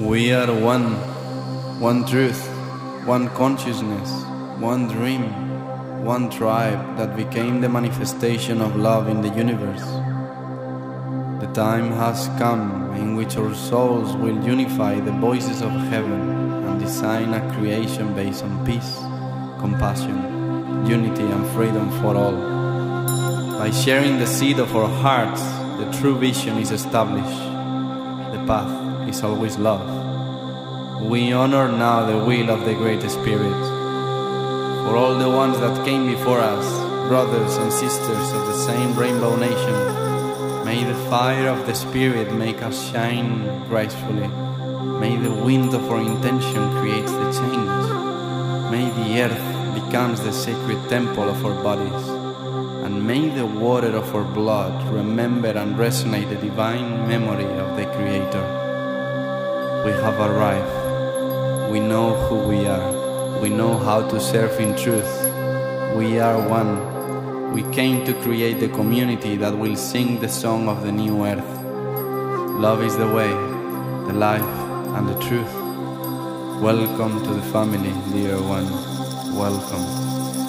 We are one truth, one consciousness, one dream, one tribe that became the manifestation of love in the universe. The time has come in which our souls will unify the voices of heaven and design a creation based on peace, compassion, unity and freedom for all. By sharing the seed of our hearts, the true vision is established. The path is always love. We honor now the will of the Great Spirit. For all the ones that came before us, brothers and sisters of the same Rainbow Nation, may the fire of the Spirit make us shine gracefully. May the wind of our intention create the change. May the earth becomes the sacred temple of our bodies. And may the water of our blood remember and resonate the divine memory of the Creator. We have arrived. We know who we are. We know how to serve in truth. We are one. We came to create the community that will sing the song of the new earth. Love is the way, the life, and the truth. Welcome to the family, dear one. Welcome.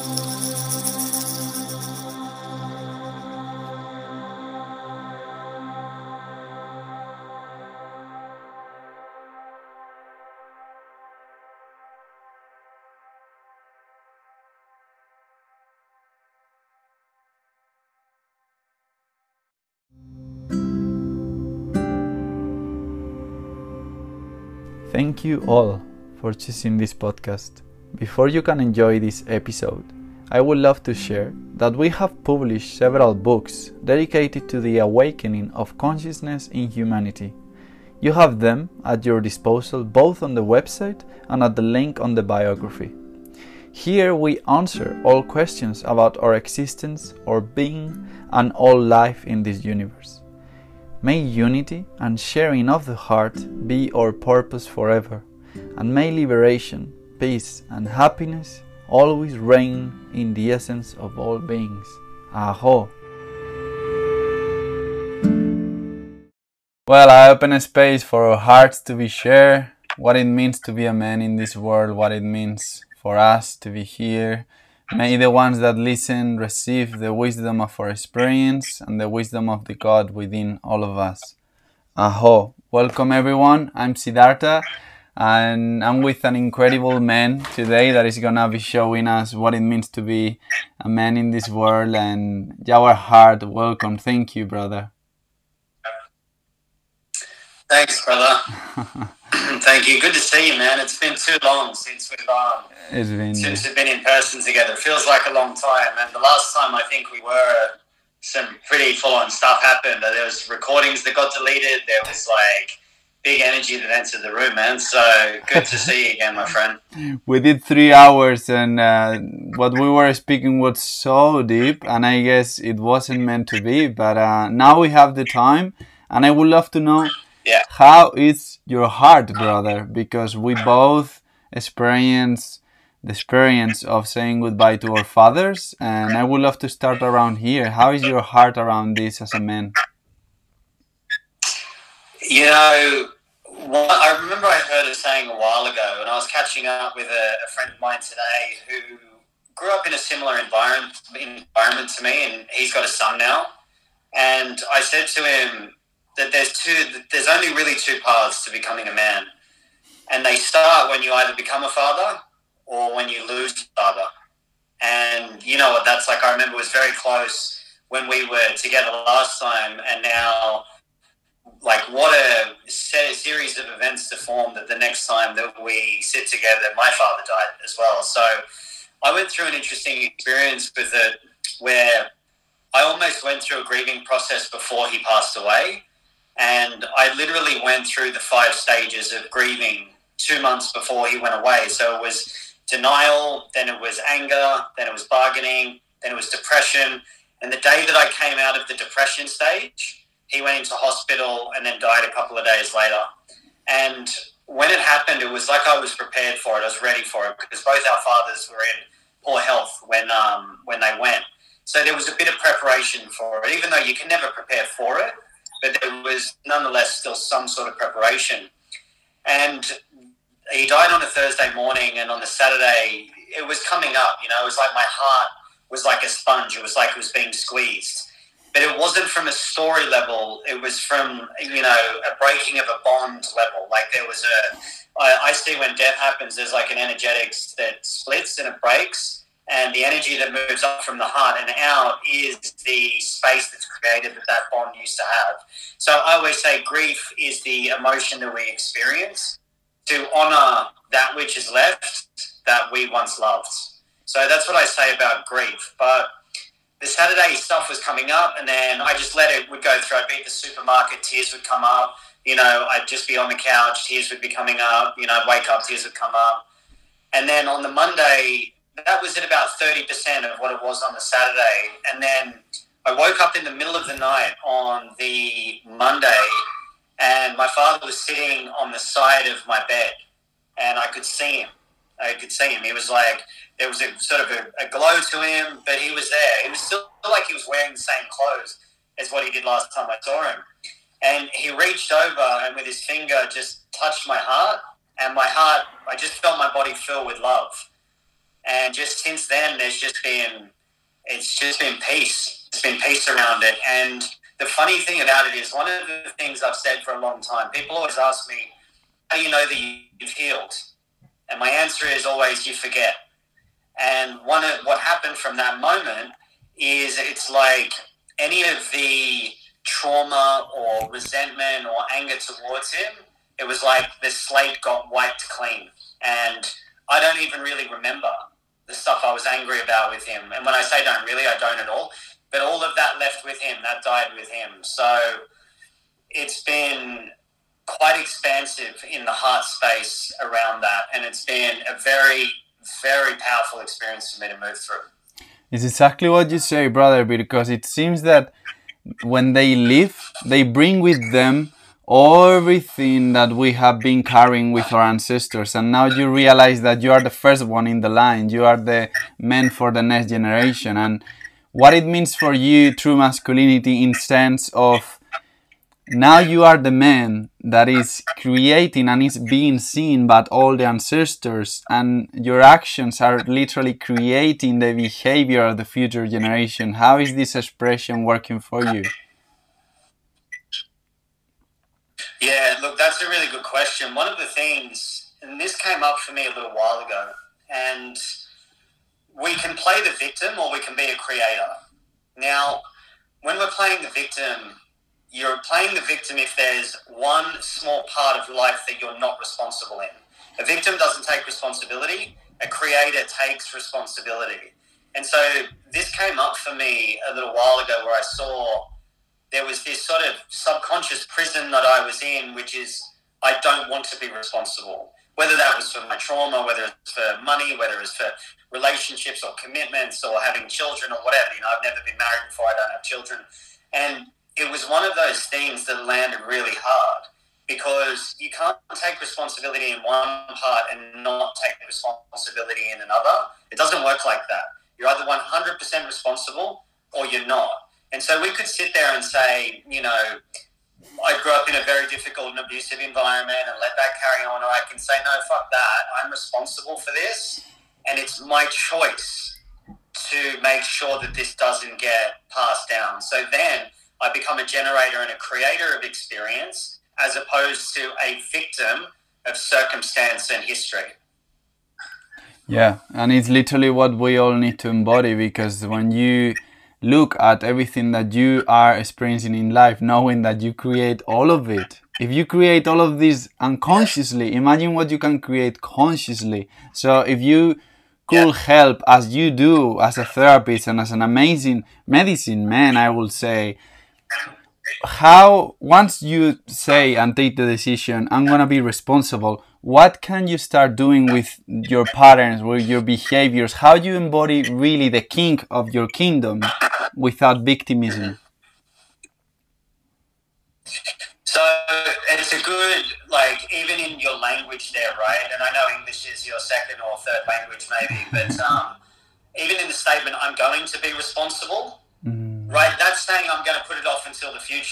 Thank you all for choosing this podcast. Before you can enjoy this episode, I would love to share that we have published several books dedicated to the awakening of consciousness in humanity. You have them at your disposal both on the website and at the link on the biography. Here we answer all questions about our existence, our being, and all life in this universe. May unity and sharing of the heart be our purpose forever, and may liberation, peace and happiness always reign in the essence of all beings. Aho! Well, I open a space for our hearts to be shared, what it means to be a man in this world, what it means for us to be here. May the ones that listen receive the wisdom of our experience and the wisdom of the God within all of us. Aho! Welcome everyone, I'm Siddhartha and I'm with an incredible man today that is gonna be showing us what it means to be a man in this world. And Jawar Hart, welcome. Thank you, brother. Thanks, brother. Thank you. Good to see you, man. It's been too long since we've been in person together. It feels like a long time. And the last time I think we were, some pretty full-on stuff happened. There was recordings that got deleted. There was like big energy that entered the room, man. So good to see you again, my friend. We did 3 hours, and what we were speaking was so deep, and I guess it wasn't meant to be. But now we have the time, and I would love to know. Yeah. How is your heart, brother? Because we both experience the experience of saying goodbye to our fathers, and I would love to start around here. How is your heart around this as a man? You know, I remember I heard a saying a while ago, and I was catching up with a friend of mine today who grew up in a similar environment to me, and he's got a son now. And I said to him that there's only really two paths to becoming a man. And they start when you either become a father or when you lose a father. And you know what that's like. I remember it was very close when we were together last time, and now, like, what a series of events to form that the next time that we sit together, my father died as well. So I went through an interesting experience with it where I almost went through a grieving process before he passed away. And I literally went through the 5 stages of grieving 2 months before he went away. So it was denial, then it was anger, then it was bargaining, then it was depression. And the day that I came out of the depression stage, he went into hospital and then died a couple of days later. And when it happened, it was like I was prepared for it. I was ready for it because both our fathers were in poor health when they went. So there was a bit of preparation for it, even though you can never prepare for it. But there was nonetheless still some sort of preparation. And he died on a Thursday morning, and on the Saturday, it was coming up. You know, it was like my heart was like a sponge. It was like it was being squeezed. But it wasn't from a story level. It was from, you know, a breaking of a bond level. Like there was I see when death happens, there's like an energetics that splits and it breaks. And the energy that moves up from the heart and out is the space that's created that bond used to have. So I always say grief is the emotion that we experience to honor that which is left that we once loved. So that's what I say about grief. But the Saturday stuff was coming up, and then I just let it would go through. I'd be at the supermarket, tears would come up. You know, I'd just be on the couch, tears would be coming up. You know, I'd wake up, tears would come up. And then on the Monday, that was at about 30% of what it was on the Saturday. And then I woke up in the middle of the night on the Monday, and my father was sitting on the side of my bed, and I could see him. He was like, there was a sort of a glow to him, but he was there. He was still like he was wearing the same clothes as what he did last time I saw him. And he reached over and with his finger just touched my heart. And my heart, I just felt my body fill with love. And just since then, it's just been peace. It's been peace around it. And the funny thing about it is, one of the things I've said for a long time, people always ask me, how do you know that you've healed? And my answer is always, you forget. And what happened from that moment is it's like any of the trauma or resentment or anger towards him, it was like the slate got wiped clean. And I don't even really remember the stuff I was angry about with him. And when I say don't really, I don't at all. But all of that left with him, that died with him. So it's been quite expansive in the heart space around that. And it's been a very, very powerful experience for me to move through. It's exactly what you say, brother, because it seems that when they leave, they bring with them everything that we have been carrying with our ancestors. And now you realize that you are the first one in the line. You are the man for the next generation. And what it means for you, true masculinity, in sense of now you are the man that is creating and is being seen by all the ancestors, and your actions are literally creating the behavior of the future generation. How is this expression working for you? Yeah, look, that's a really good question. One of the things, and this came up for me a little while ago, and we can play the victim or we can be a creator. Now, when we're playing the victim, you're playing the victim if there's one small part of life that you're not responsible in. A victim doesn't take responsibility. A creator takes responsibility. And so this came up for me a little while ago where I saw there was this sort of subconscious prison that I was in, which is I don't want to be responsible. Whether that was for my trauma, whether it's for money, whether it's for relationships or commitments or having children or whatever. You know, I've never been married before. I don't have children. And it was one of those things that landed really hard because you can't take responsibility in one part and not take responsibility in another. It doesn't work like that. You're either 100% responsible or you're not. And so we could sit there and say, you know, I grew up in a very difficult and abusive environment and let that carry on. Or I can say, no, fuck that. I'm responsible for this. And it's my choice to make sure that this doesn't get passed down. So then I become a generator and a creator of experience as opposed to a victim of circumstance and history. Yeah, and it's literally what we all need to embody, because when you look at everything that you are experiencing in life, knowing that you create all of it, if you create all of this unconsciously, imagine what you can create consciously. So if you could help, as you do as a therapist and as an amazing medicine man, I will say, how, once you say and take the decision, I'm going to be responsible, what can you start doing with your patterns, with your behaviors? How do you embody really the king of your kingdom without victimism? So it's a good, like, even in your language there, right? And I know English is your second or third language maybe, but even in the statement, I'm going to be responsible, right? That's saying I'm going to put it off until the future,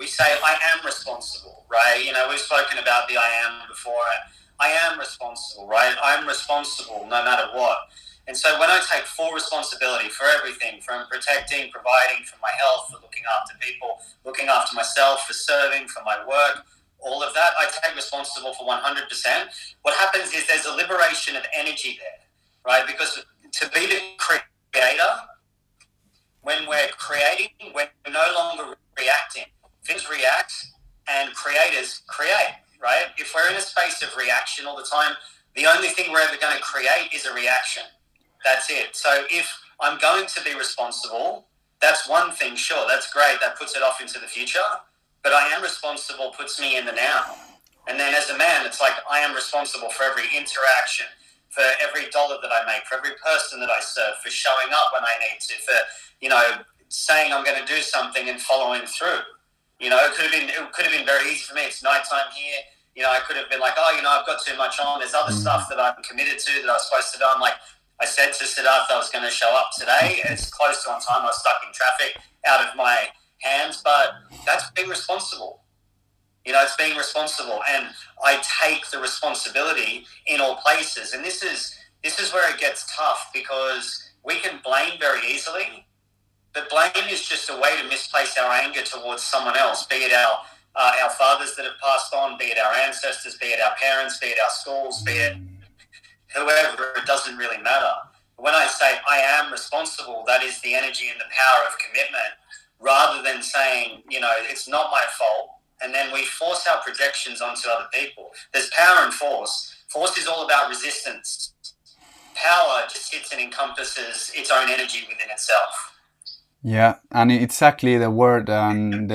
We say, I am responsible, right? You know, we've spoken about the I am before. I am responsible, right? I'm responsible no matter what. And so when I take full responsibility for everything, from protecting, providing for my health, for looking after people, looking after myself, for serving, for my work, all of that, I take responsible for 100%. What happens is there's a liberation of energy there, right? Because to be the creator, when we're creating, we're no longer reacting. Things react and creators create, right? If we're in a space of reaction all the time, the only thing we're ever going to create is a reaction. That's it. So if I'm going to be responsible, that's one thing, sure, that's great. That puts it off into the future. But I am responsible puts me in the now. And then as a man, it's like I am responsible for every interaction, for every dollar that I make, for every person that I serve, for showing up when I need to, for, you know, saying I'm going to do something and following through. You know, it could have been very easy for me. It's nighttime here. You know, I could have been like, oh, you know, I've got too much on. There's other stuff that I'm committed to that I was supposed to do. I'm like, I said to Siddharth I was going to show up today. It's close to on time. I was stuck in traffic, out of my hands, but that's being responsible. You know, it's being responsible, and I take the responsibility in all places. And this is where it gets tough, because we can blame very easily, but blame is just a way to misplace our anger towards someone else, be it our fathers that have passed on, be it our ancestors, be it our parents, be it our schools, be it whoever. It doesn't really matter. When I say I am responsible, that is the energy and the power of commitment, rather than saying, you know, it's not my fault. And then we force our projections onto other people. There's power in force. Force is all about resistance. Power just sits and encompasses its own energy within itself. Yeah, and exactly the word and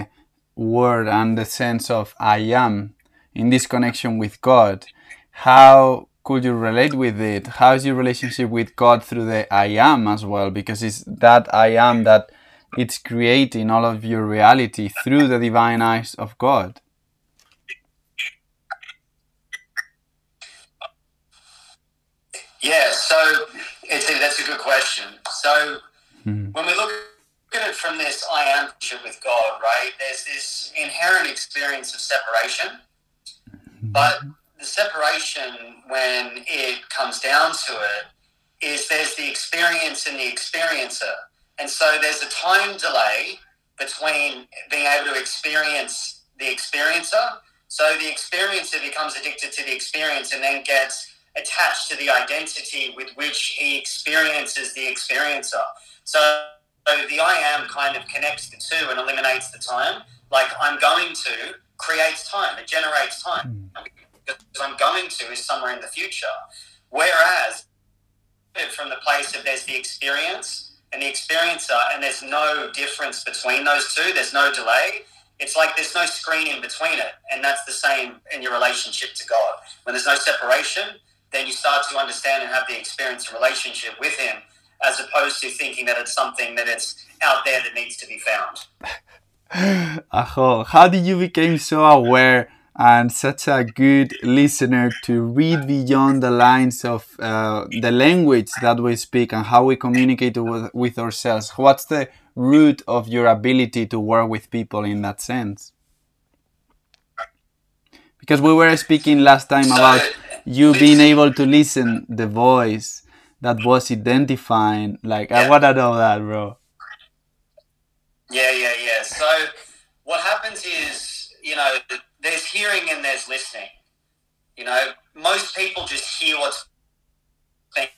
the sense of I am in this connection with God. How could you relate with it? How is your relationship with God through the I am as well? Because it's that I am that it's creating all of your reality through the divine eyes of God. Yeah, so that's a good question. So when we look at it from this I am with God, right, there's this inherent experience of separation. But the separation, when it comes down to it, is there's the experience and the experiencer. And so there's a time delay between being able to experience the experiencer. So the experiencer becomes addicted to the experience and then gets attached to the identity with which he experiences the experiencer. So the I am kind of connects the two and eliminates the time. Like I'm going to creates time. It generates time. Because I'm going to is somewhere in the future. Whereas from the place of there's the experience and the experiencer, and there's no difference between those two. There's no delay. It's like there's no screen in between it. And that's the same in your relationship to God. When there's no separation, then you start to understand and have the experience and relationship with him, as opposed to thinking that it's something that it's out there that needs to be found. Aho, how did you become so aware and such a good listener to read beyond the lines of the language that we speak and how we communicate with ourselves? What's the root of your ability to work with people in that sense? Because we were speaking last time about you being able to listen the voice that was identifying. Like, I want to know that, bro. Yeah. So what happens is, you know, there's hearing and there's listening. You know, most people just hear what's being.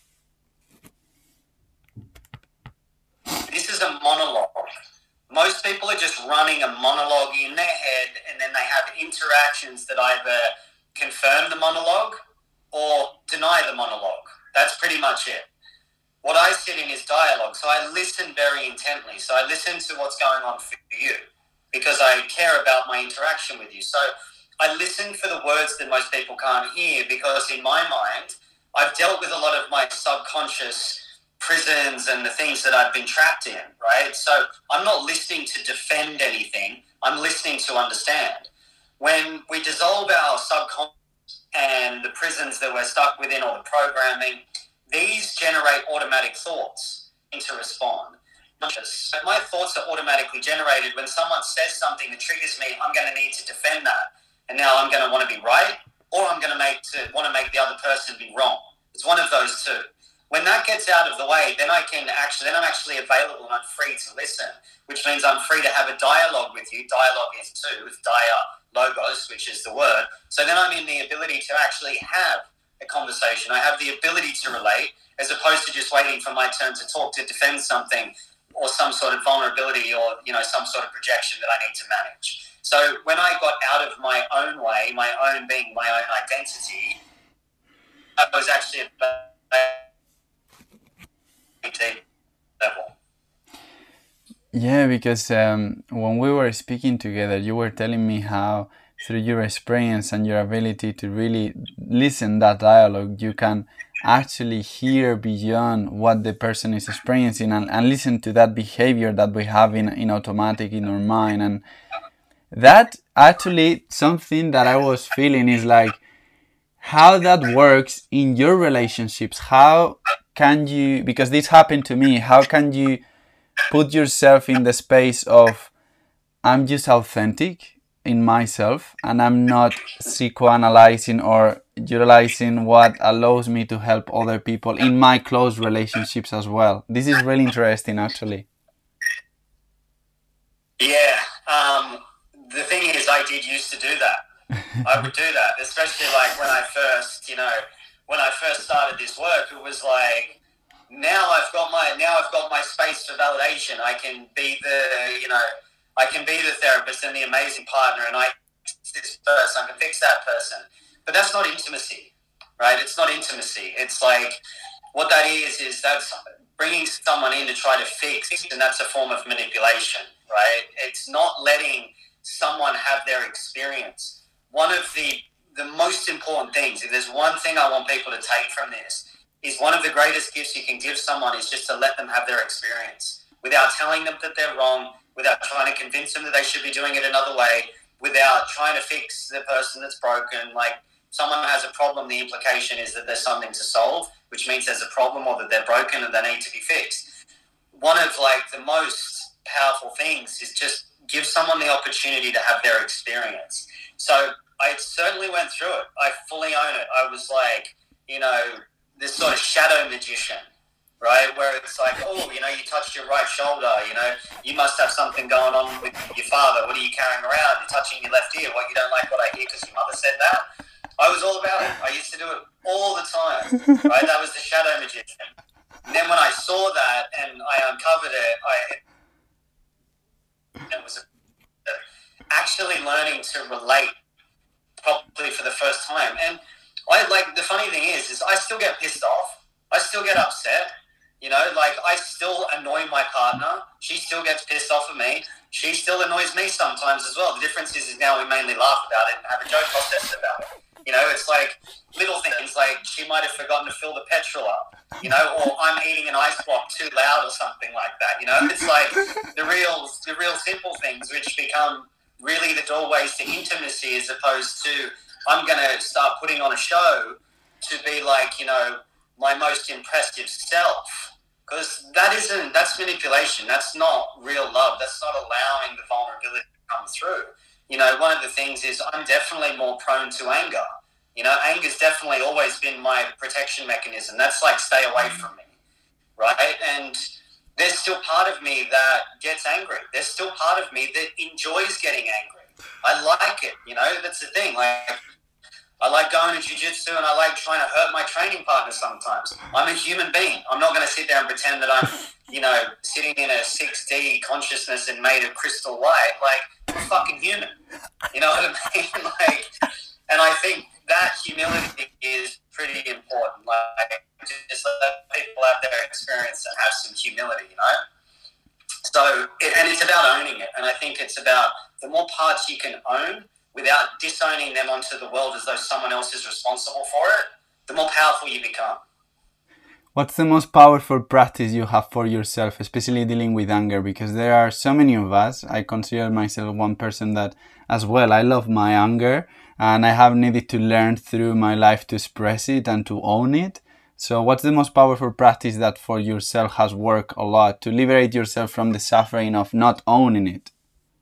This is a monologue. Most people are just running a monologue in their head, and then they have interactions that either confirm the monologue or deny the monologue. That's pretty much it. What I sit in is dialogue. So I listen very intently. So I listen to what's going on for you, because I care about my interaction with you. So I listen for the words that most people can't hear, because in my mind, I've dealt with a lot of my subconscious prisons and the things that I've been trapped in, right? So I'm not listening to defend anything. I'm listening to understand. When we dissolve our subconscious and the prisons that we're stuck within, or the programming, these generate automatic thoughts to respond. conscious. My thoughts are automatically generated when someone says something that triggers me. I'm going to need to defend that, and now I'm going to want to be right, or I'm going to want to make the other person be wrong. It's one of those two. When that gets out of the way, then I'm actually available and I'm free to listen, which means I'm free to have a dialogue with you. Dialogue is two, with logos, which is the word. So then I'm in the ability to actually have a conversation. I have the ability to relate, as opposed to just waiting for my turn to talk, to defend something or some sort of vulnerability or, some sort of projection that I need to manage. So when I got out of my own way, my own being, my own identity, I was actually at a deep level. Yeah, because when we were speaking together, you were telling me how through your experience and your ability to really listen that dialogue, you can actually hear beyond what the person is experiencing and listen to that behavior that we have in automatic in our mind. And that actually something that I was feeling is like how that works in your relationships. How can you, because this happened to me, how can you put yourself in the space of I'm just authentic in myself and I'm not psychoanalyzing or utilizing what allows me to help other people in my close relationships as well. This is really interesting, actually. Yeah. The thing is, I did used to do that. I would do that, especially like when I first started this work. It was like, now I've got my space for validation. I can be the therapist and the amazing partner, and I fix this person, I can fix that person. But that's not intimacy, right? It's not intimacy. It's like, what that is that's bringing someone in to try to fix, and that's a form of manipulation, right? It's not letting someone have their experience. One of the most important things, if there's one thing I want people to take from this, is one of the greatest gifts you can give someone is just to let them have their experience without telling them that they're wrong, without trying to convince them that they should be doing it another way, without trying to fix the person that's broken. Like, someone has a problem, the implication is that there's something to solve, which means there's a problem or that they're broken and they need to be fixed. One of like the most powerful things is just give someone the opportunity to have their experience. So I certainly went through it. I fully own it. I was like, this sort of shadow magician, right? Where it's like, oh, you touched your right shoulder, you must have something going on with your father. What are you carrying around? You're touching your left ear. What, you don't like what I hear because your mother said that? I was all about it. I used to do it all the time, right? That was the shadow magician. And then when I saw that and I uncovered it, it was actually learning to relate properly for the first time. And the funny thing is I still get pissed off. I still get upset. I still annoy my partner. She still gets pissed off at me. She still annoys me sometimes as well. The difference is now we mainly laugh about it and have a joke process about it. It's like little things like she might have forgotten to fill the petrol up, or I'm eating an ice block too loud or something like that. It's like the real simple things which become really the doorways to intimacy, as opposed to I'm going to start putting on a show to be like, my most impressive self. Because that's manipulation. That's not real love. That's not allowing the vulnerability to come through. One of the things is I'm definitely more prone to anger. Anger's definitely always been my protection mechanism. That's like, stay away from me, right? And there's still part of me that gets angry. There's still part of me that enjoys getting angry. I like it, that's the thing. Like, I like going to jiu-jitsu and I like trying to hurt my training partner sometimes. I'm a human being. I'm not going to sit there and pretend that I'm, sitting in a 6D consciousness and made of crystal light. Like, I'm a fucking human. You know what I mean? Like, and I think that humility is pretty important. Like, just let people have their experience and have some humility, So, and it's about owning it. And I think it's about the more parts you can own without disowning them onto the world as though someone else is responsible for it, the more powerful you become. What's the most powerful practice you have for yourself, especially dealing with anger? Because there are so many of us. I consider myself one person that as well, I love my anger and I have needed to learn through my life to express it and to own it. So what's the most powerful practice that for yourself has worked a lot to liberate yourself from the suffering of not owning it?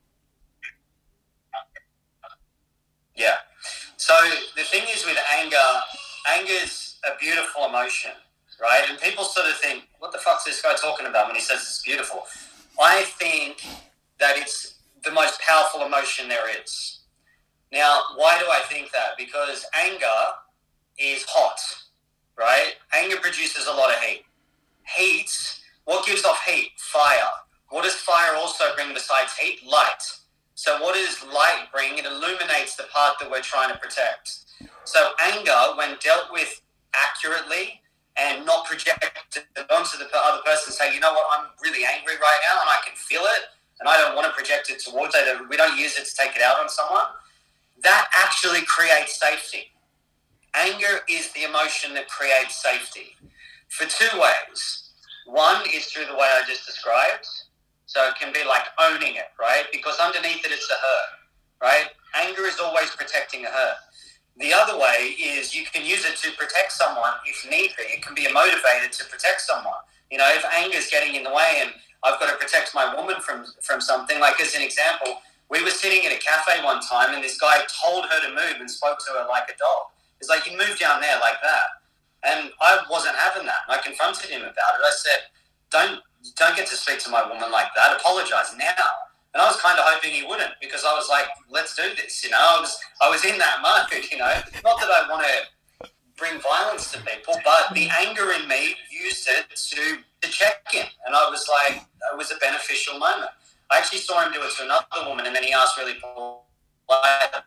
Yeah. So the thing is with anger is a beautiful emotion, right? And people sort of think, what the fuck's this guy talking about when he says it's beautiful? I think that it's the most powerful emotion there is. Now, why do I think that? Because anger is hot, right? Anger produces a lot of heat. Heat, what gives off heat? Fire. What does fire also bring besides heat? Light. So what does light bring? It illuminates the part that we're trying to protect. So anger, when dealt with accurately and not projected onto the other person, say, you know what, I'm really angry right now and I can feel it and I don't want to project it towards it. We don't use it to take it out on someone. That actually creates safety. Anger is the emotion that creates safety for two ways. One is through the way I just described. So it can be like owning it, right? Because underneath it, it's a hurt, right? Anger is always protecting a hurt. The other way is you can use it to protect someone if need be. It can be motivated to protect someone. You know, if anger is getting in the way and I've got to protect my woman from something, like as an example, we were sitting at a cafe one time and this guy told her to move and spoke to her like a dog. He's like, you move down there like that. And I wasn't having that. I confronted him about it. I said, don't get to speak to my woman like that. Apologize now. And I was kind of hoping he wouldn't, because I was like, let's do this. You know, I was in that mode, you know, not that I want to bring violence to people, but the anger in me used it to check in. And I was like, it was a beneficial moment. I actually saw him do it to another woman, and then he asked really politely,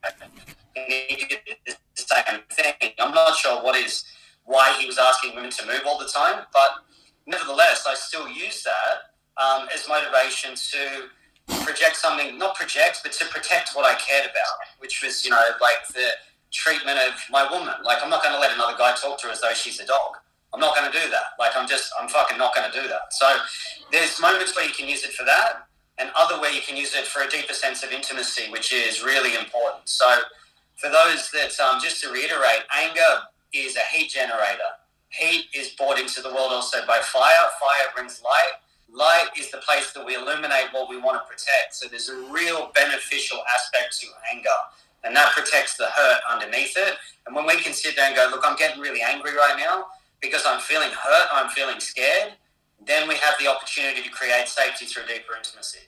and he did the same thing. I'm not sure why he was asking women to move all the time, but nevertheless, I still use that as motivation to project something, not project, but to protect what I cared about, which was, you know, like the treatment of my woman. Like, I'm not going to let another guy talk to her as though she's a dog. I'm not going to do that. Like, I'm fucking not going to do that. So there's moments where you can use it for that, and other where you can use it for a deeper sense of intimacy, which is really important. So for those that, just to reiterate, anger is a heat generator. Heat is brought into the world also by fire. Fire brings light. Light is the place that we illuminate what we want to protect. So there's a real beneficial aspect to anger, and that protects the hurt underneath it. And when we can sit there and go, look, I'm getting really angry right now because I'm feeling hurt, I'm feeling scared, then we have the opportunity to create safety through deeper intimacy.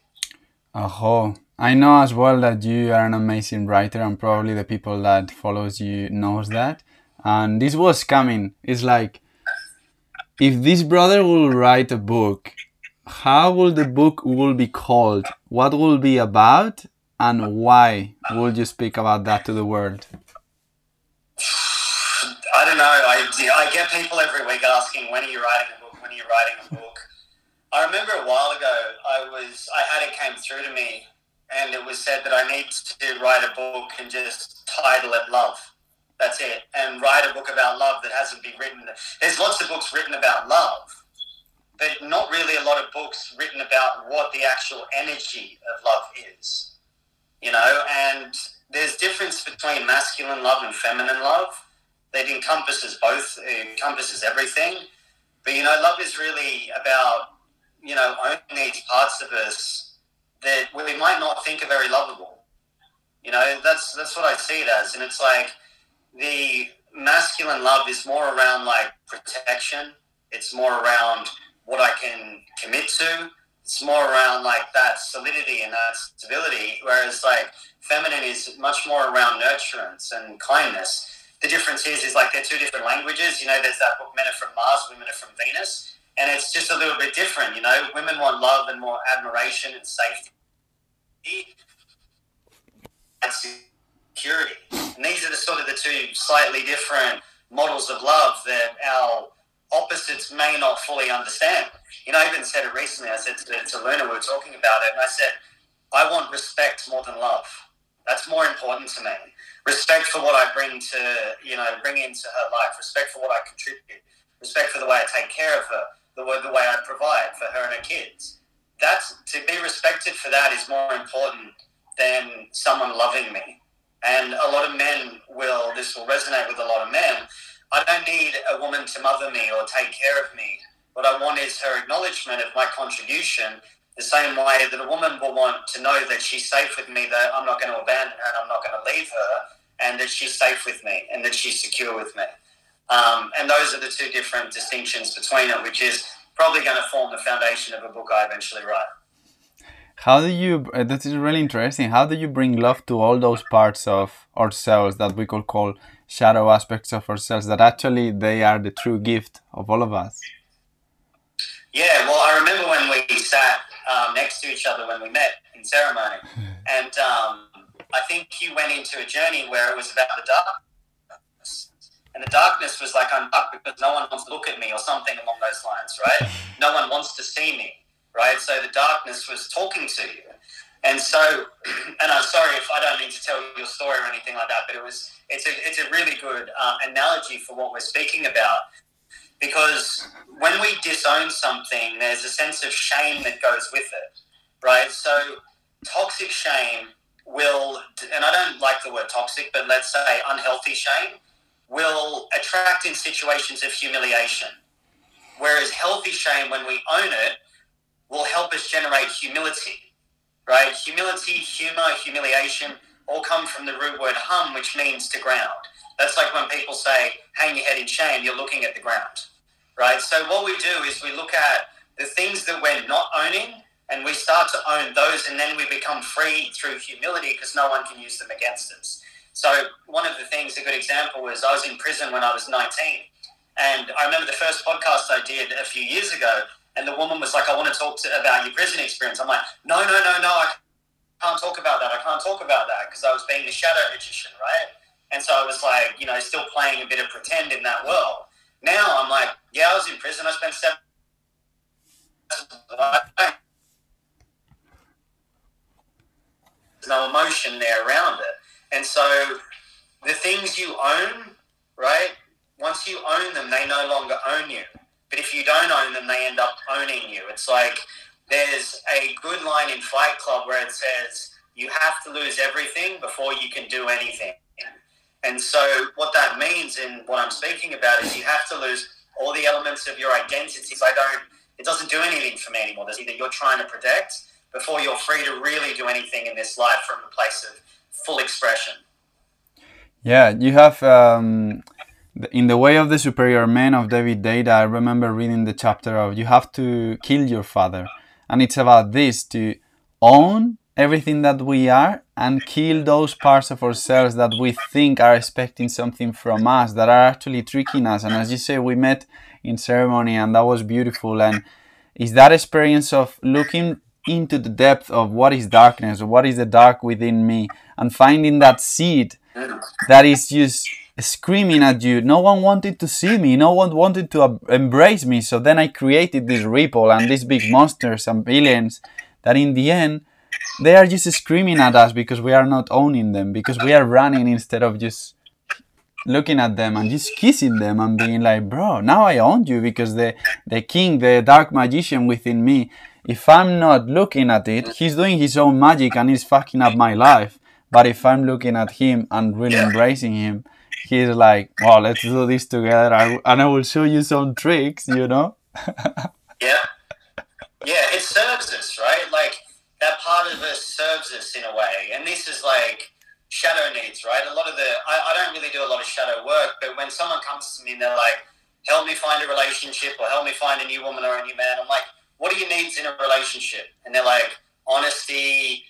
Oh, I know as well that you are an amazing writer, and probably the people that follows you knows that. And this was coming. It's like, if this brother will write a book, how will the book will be called? What will be about? And why would you speak about that to the world? I don't know. I get people every week asking, when are you writing a book? When are you writing a book? I remember a while ago, I had it came through to me, and it was said that I need to write a book and just title it Love. That's it. And write a book about love that hasn't been written. There's lots of books written about love, but not really a lot of books written about what the actual energy of love is. You know, and there's difference between masculine love and feminine love. That encompasses both. It encompasses everything. But, you know, love is really about, you know, owning these parts of us that we might not think are very lovable. You know, that's what I see it as. And it's like, the masculine love is more around like protection. It's more around what I can commit to. It's more around like that solidity and that stability. Whereas like feminine is much more around nurturance and kindness. The difference is like they're two different languages. You know, there's that book, Men Are From Mars, Women Are From Venus. And it's just a little bit different, you know. Women want love and more admiration and safety. That's security. And these are the sort of the two slightly different models of love that our opposites may not fully understand. You know, I even said it recently. I said to Luna, we were talking about it, and I said, I want respect more than love. That's more important to me. Respect for what I bring into her life. Respect for what I contribute. Respect for the way I take care of her. The way I provide for her and her kids. To be respected for that is more important than someone loving me. And a lot of men this will resonate with a lot of men. I don't need a woman to mother me or take care of me. What I want is her acknowledgement of my contribution, the same way that a woman will want to know that she's safe with me, that I'm not going to abandon her and I'm not going to leave her, and that she's safe with me and that she's secure with me. And those are the two different distinctions between it, which is probably going to form the foundation of a book I eventually write. How do you, that is really interesting, how do you bring love to all those parts of ourselves that we could call shadow aspects of ourselves, that actually they are the true gift of all of us? Yeah, well, I remember when we sat next to each other when we met in ceremony, and I think you went into a journey where it was about the darkness, and the darkness was like, I'm up because no one wants to look at me or something along those lines, right? No one wants to see me, right? So the darkness was talking to you. And so, and I'm sorry if I don't need to tell your story or anything like that, but it's a really good analogy for what we're speaking about. Because when we disown something, there's a sense of shame that goes with it, right? So toxic shame will, and I don't like the word toxic, but let's say unhealthy shame, will attract in situations of humiliation. Whereas healthy shame, when we own it, will help us generate humility, right? Humility, humor, humiliation all come from the root word hum, which means to ground. That's like when people say, hang your head in shame, you're looking at the ground, right? So what we do is we look at the things that we're not owning and we start to own those, and then we become free through humility because no one can use them against us. So one of the things, a good example was I was in prison when I was 19. And I remember the first podcast I did a few years ago, and the woman was like, I want to talk about your prison experience. I'm like, no, I can't talk about that. I can't talk about that because I was being the shadow magician, right? And so I was like, still playing a bit of pretend in that world. Now I'm like, yeah, I was in prison. I spent 7 years. There's no emotion there around it. And so the things you own, right, once you own them, they no longer own you. But if you don't own them, they end up owning you. It's like there's a good line in Fight Club where it says, you have to lose everything before you can do anything. And so what that means in what I'm speaking about is you have to lose all the elements of your identity. It doesn't do anything for me anymore. There's either you're trying to protect before you're free to really do anything in this life from a place of full expression. Yeah, you have, in The Way of the Superior Man of David Deida, I remember reading the chapter of you have to kill your father. And it's about this, to own everything that we are and kill those parts of ourselves that we think are expecting something from us, that are actually tricking us. And as you say, we met in ceremony and that was beautiful. And it's that experience of looking into the depth of what is darkness, or what is the dark within me, and finding that seed that is just screaming at you. No one wanted to see me. No one wanted to embrace me. So then I created this ripple and these big monsters and villains that in the end, they are just screaming at us because we are not owning them, because we are running instead of just looking at them and just kissing them and being like, bro, now I own you, because the king, the dark magician within me, if I'm not looking at it, he's doing his own magic and he's fucking up my life. But if I'm looking at him and really embracing him, he's like, well, let's do this together and I will show you some tricks, Yeah, it serves us, right? Like, that part of us serves us in a way. And this is like shadow needs, right? A lot of I don't really do a lot of shadow work, but when someone comes to me and they're like, help me find a relationship or help me find a new woman or a new man, I'm like, what are your needs in a relationship? And they're like, honesty,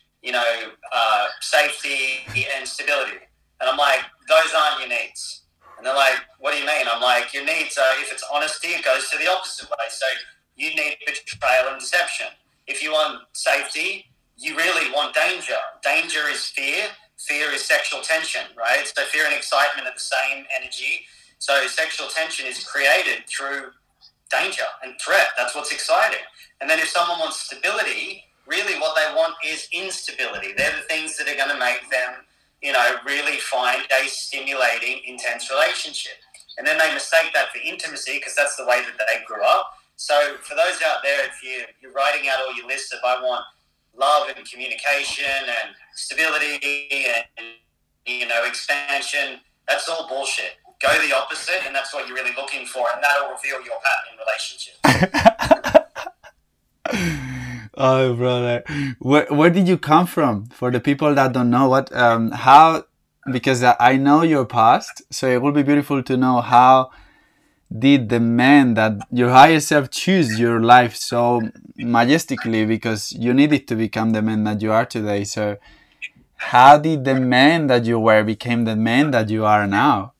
safety and stability. And I'm like, those aren't your needs. And they're like, what do you mean? I'm like, your needs are, if it's honesty, it goes to the opposite way. So you need betrayal and deception. If you want safety, you really want danger. Danger is fear. Fear is sexual tension, right? So fear and excitement are the same energy. So sexual tension is created through danger and threat. That's what's exciting. And then if someone wants stability, really what they want is instability. They're the things that are going to make them, really find a stimulating, intense relationship. And then they mistake that for intimacy because that's the way that they grew up. So for those out there, if you're writing out all your lists of I want love and communication and stability and, expansion, that's all bullshit. Go the opposite, and that's what you're really looking for, and that'll reveal your pattern in relationships. Oh, brother, where did you come from? For the people that don't know, how, because I know your past, so it would be beautiful to know how did the man that your higher self choose your life so majestically, because you needed to become the man that you are today. So how did the man that you were became the man that you are now?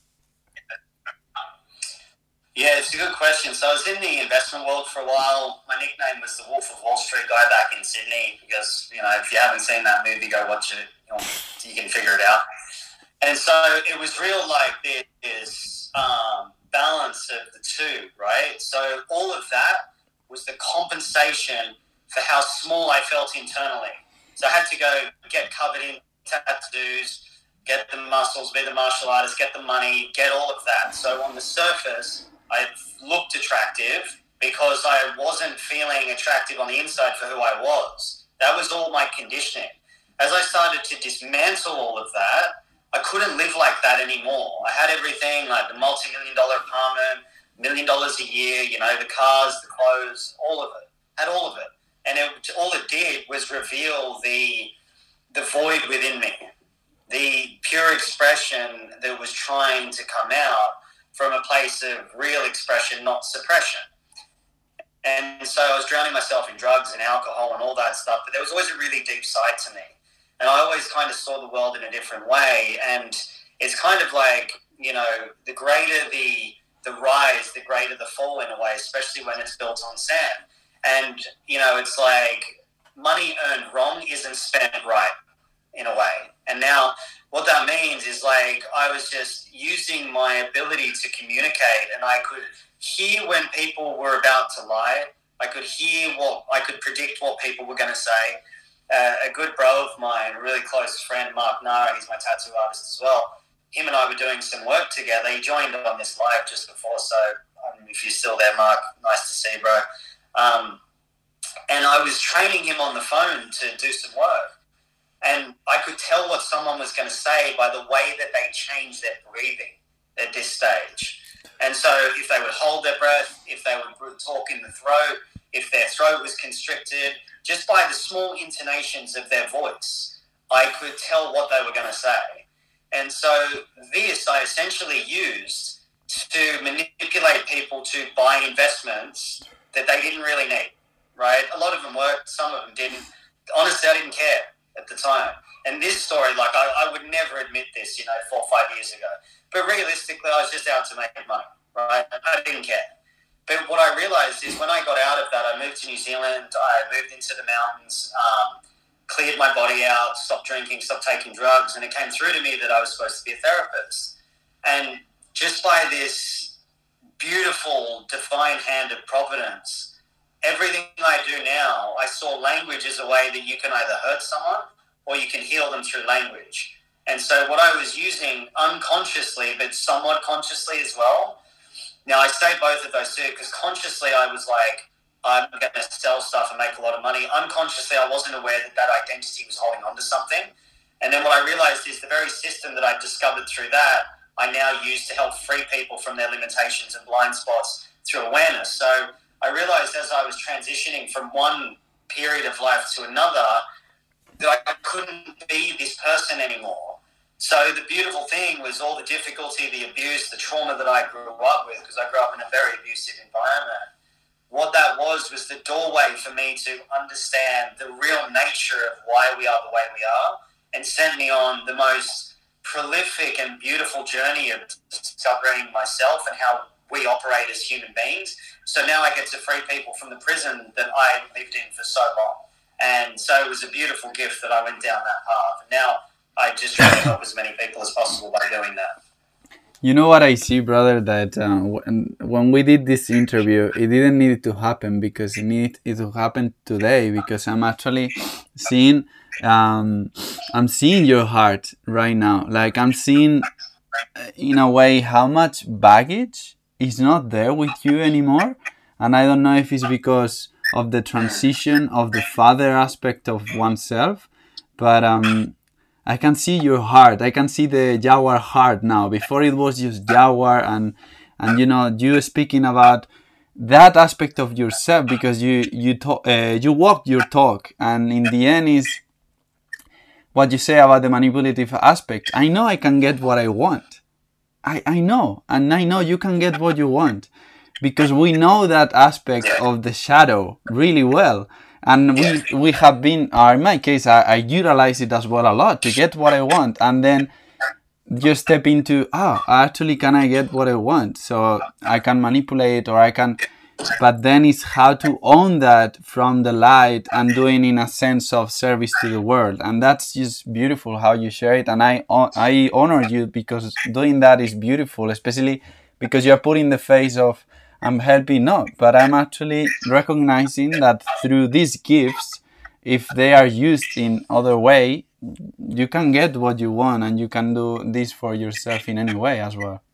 Yeah, it's a good question. So I was in the investment world for a while. My nickname was the Wolf of Wall Street guy back in Sydney because, if you haven't seen that movie, go watch it. You can figure it out. And so it was real like this balance of the two, right? So all of that was the compensation for how small I felt internally. So I had to go get covered in tattoos, get the muscles, be the martial artist, get the money, get all of that. So on the surface, I looked attractive because I wasn't feeling attractive on the inside for who I was. That was all my conditioning. As I started to dismantle all of that, I couldn't live like that anymore. I had everything, like the multi-million-dollar apartment, $1 million a year, the cars, the clothes, all of it. Had all of it. And all it did was reveal the void within me, the pure expression that was trying to come out from a place of real expression, not suppression. And so I was drowning myself in drugs and alcohol and all that stuff, but there was always a really deep side to me. And I always kind of saw the world in a different way. And it's kind of like, the greater the rise, the greater the fall in a way, especially when it's built on sand. And, it's like money earned wrong isn't spent right in a way. And now what that means is like I was just using my ability to communicate, and I could hear when people were about to lie. I could predict what people were going to say. A good bro of mine, a really close friend, Mark Nara, he's my tattoo artist as well. Him and I were doing some work together. He joined on this live just before, so if you're still there, Mark, nice to see you, bro. And I was training him on the phone to do some work. And I could tell what someone was going to say by the way that they changed their breathing at this stage. And so if they would hold their breath, if they would talk in the throat, if their throat was constricted, just by the small intonations of their voice, I could tell what they were going to say. And so this I essentially used to manipulate people to buy investments that they didn't really need, right? A lot of them worked, some of them didn't. Honestly, I didn't care at the time. And this story, I would never admit this, 4 or 5 years ago. But realistically, I was just out to make money, right? I didn't care. But what I realized is when I got out of that, I moved to New Zealand, I moved into the mountains, cleared my body out, stopped drinking, stopped taking drugs, and it came through to me that I was supposed to be a therapist. And just by this beautiful, divine hand of providence, everything I do now, I saw language as a way that you can either hurt someone or you can heal them through language. And so what I was using unconsciously, but somewhat consciously as well. Now, I say both of those too, because consciously I was like, I'm going to sell stuff and make a lot of money. Unconsciously, I wasn't aware that identity was holding on to something. And then what I realized is the very system that I discovered through that, I now use to help free people from their limitations and blind spots through awareness. So I realized as I was transitioning from one period of life to another that I couldn't be this person anymore. So the beautiful thing was all the difficulty, the abuse, the trauma that I grew up with, because I grew up in a very abusive environment. What that was the doorway for me to understand the real nature of why we are the way we are, and sent me on the most prolific and beautiful journey of discovering myself and how we operate as human beings. So now I get to free people from the prison that I lived in for so long. And so it was a beautiful gift that I went down that path. And now I just try to help as many people as possible by doing that. You know what I see, brother, that when we did this interview, it didn't need to happen because it needed it to happen today, because I'm actually seeing, I'm seeing your heart right now. Like I'm seeing, in a way, how much baggage is not there with you anymore. And I don't know if it's because of the transition of the father aspect of oneself, but I can see your heart. I can see the Jaguar heart now. Before it was just Jaguar, and you know, you speaking about that aspect of yourself, because you walked your talk, and in the end is what you say about the manipulative aspect. I know I can get what I want. I know, and I know you can get what you want, because we know that aspect of the shadow really well. And we have been, in my case, I utilize it as well a lot to get what I want, and then you step into, actually, can I get what I want? So I can manipulate, or I can, but then it's how to own that from the light and doing in a sense of service to the world. And that's just beautiful how you share it. And I honor you, because doing that is beautiful, especially because you're putting the face of, I'm helping, no, but I'm actually recognizing that through these gifts, if they are used in other way, you can get what you want, and you can do this for yourself in any way as well.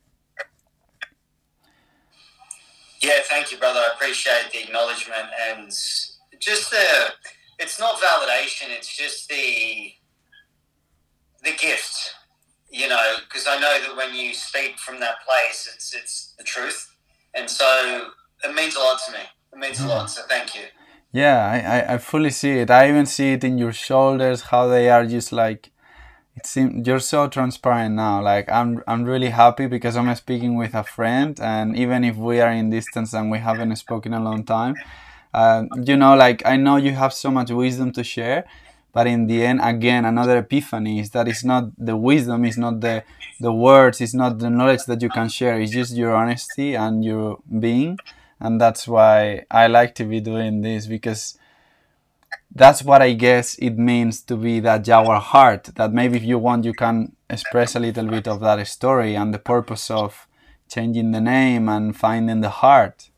Yeah, thank you, brother. I appreciate the acknowledgement, and just it's not validation, it's just the gift, you know, because I know that when you speak from that place, it's the truth. And so it means a lot to me. It means a lot. So thank you. Yeah, I fully see it. I even see it in your shoulders, how they are just like, it seems you're so transparent now. Like I'm really happy, because I'm speaking with a friend, and even if we are in distance and we haven't spoken a long time, you know, like I know you have so much wisdom to share. But in the end, again, another epiphany is that it's not the wisdom, it's not the words, it's not the knowledge that you can share. It's just your honesty and your being. And that's why I like to be doing this, because that's what I guess it means to be that Jaguar heart. That maybe if you want, you can express a little bit of that story and the purpose of changing the name and finding the heart.